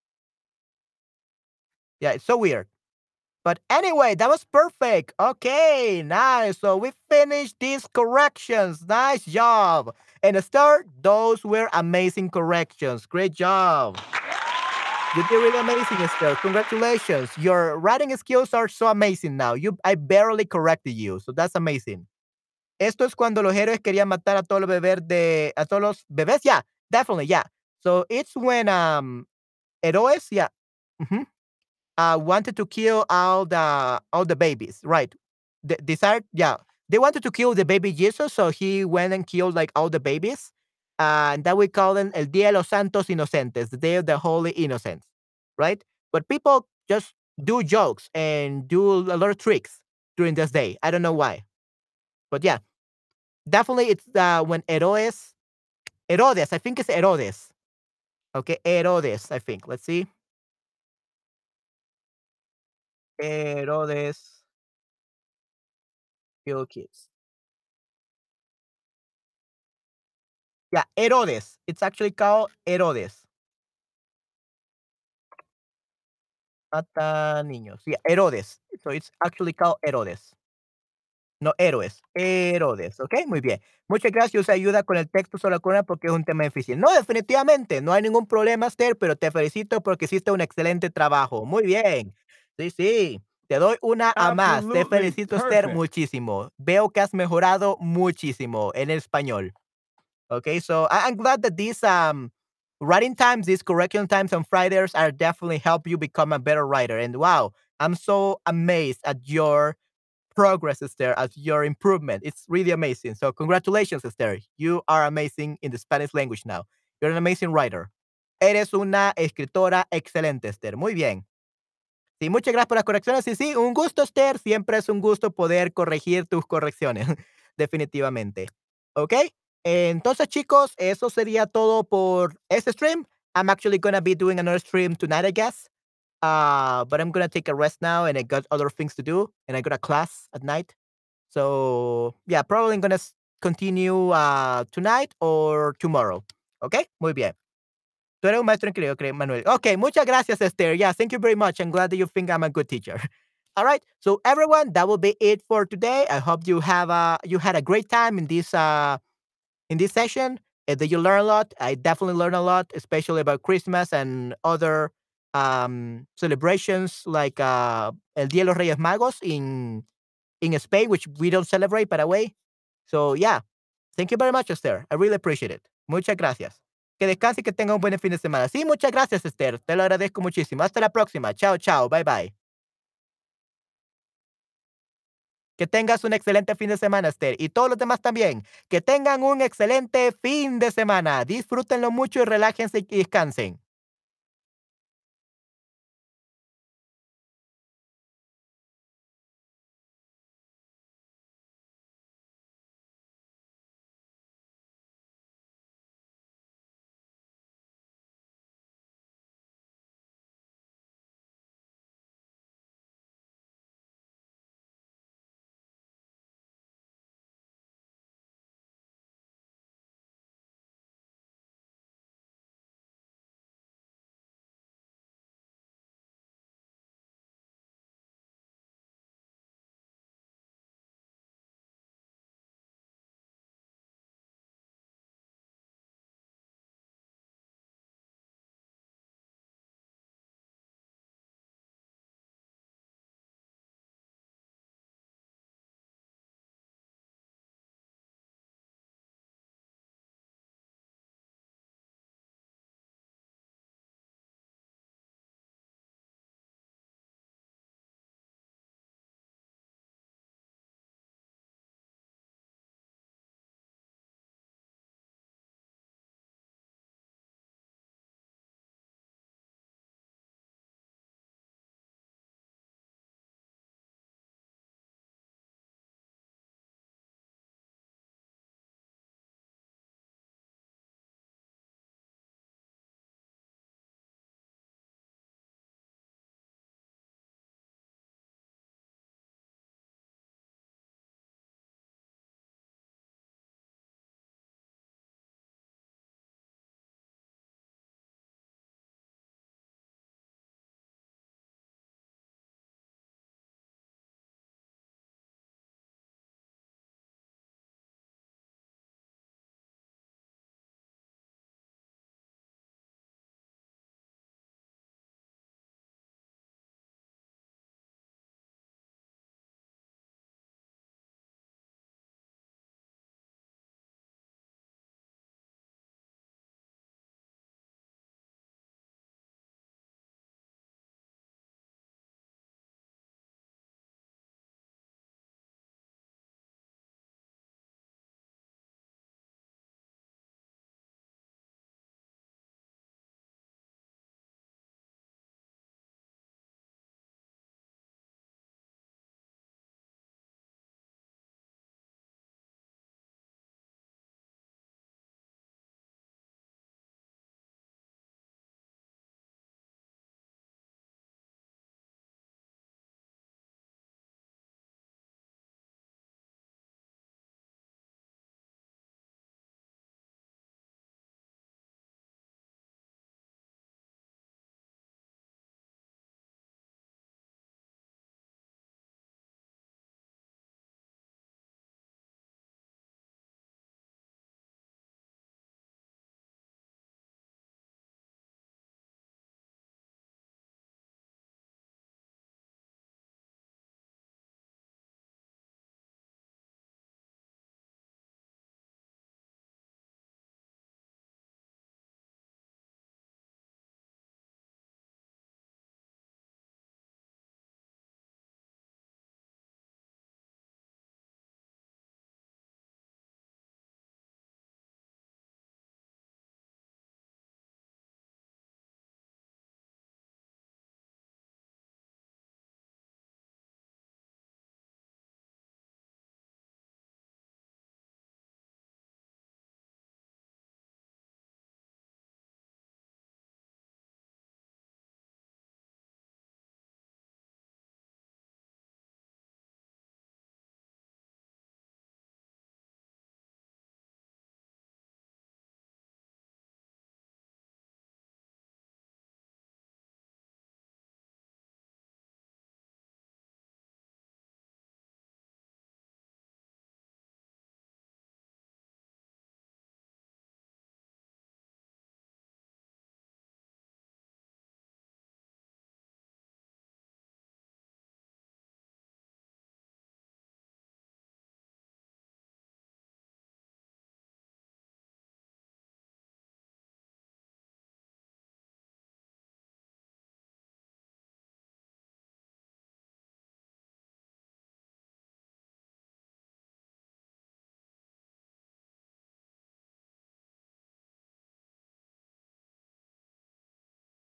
Yeah, it's so weird. But anyway, that was perfect. Okay, nice. So we finished these corrections. Nice job. And start, those were amazing corrections. Great job. You did really amazing, Esther. Congratulations. Your writing skills are so amazing now. You, I barely corrected you, so that's amazing. Esto es cuando los héroes querían matar a todos los bebés de, a todos los bebés. Yeah, definitely, yeah. So it's when um héroes, yeah, mhm, uh, wanted to kill all the all the babies, right? The desired, yeah. They wanted to kill the baby Jesus, so he went and killed like all the babies. Uh, and that we call them El Día de los Santos Inocentes, the Day of the Holy Innocents, right? But people just do jokes and do a lot of tricks during this day. I don't know why, but yeah, definitely it's uh, when Herodes, Herodes, I think it's Herodes. Okay, Herodes, I think. Let's see, Herodes kill kids. Yeah, Herodes. It's actually called Herodes. Mata niños. Yeah, Herodes. So it's actually called Herodes. No, héroes, Herodes, ¿ok? Muy bien. Muchas gracias, usa ayuda con el texto sobre la corona porque es un tema difícil. No, definitivamente, no hay ningún problema, Esther, pero te felicito porque hiciste un excelente trabajo. Muy bien. Sí, sí. Te doy una a más. Te Absolutely felicito, Esther, perfect. muchísimo. Veo que has mejorado muchísimo en el español. Okay, so I- I'm glad that these um writing times, these correction times on Fridays are definitely help you become a better writer. And wow, I'm so amazed at your progress, Esther, at your improvement. It's really amazing. So congratulations, Esther. You are amazing in the Spanish language now. You're an amazing writer. Eres una escritora excelente, Esther. Muy bien. Sí, muchas gracias por las correcciones. Sí, sí, un gusto, Esther. Siempre es un gusto poder corregir tus correcciones, definitivamente. ¿Ok? Entonces, chicos, eso sería todo por este stream. I'm actually gonna be doing another stream tonight, I guess. Uh, but I'm gonna take a rest now, and I got other things to do, and I got a class at night. So yeah, probably gonna s- continue uh, tonight or tomorrow. ¿Ok? Muy bien. Tú eres un maestro increíble, creo, Manuel. Okay, muchas gracias, Esther. Yeah, thank you very much. I'm glad that you think I'm a good teacher. All right, so everyone, that will be it for today. I hope you have a you had a great time in this uh in this session. And that you learn a lot. I definitely learned a lot, especially about Christmas and other um celebrations like uh El Día de los Reyes Magos in in Spain, which we don't celebrate, by the way. So yeah, thank you very much, Esther. I really appreciate it. Muchas gracias. Que descanse y que tenga un buen fin de semana. Sí, muchas gracias, Esther. Te lo agradezco muchísimo. Hasta la próxima. Chao, chao. Bye, bye. Que tengas un excelente fin de semana, Esther. Y todos los demás también. Que tengan un excelente fin de semana. Disfrútenlo mucho y relájense y descansen.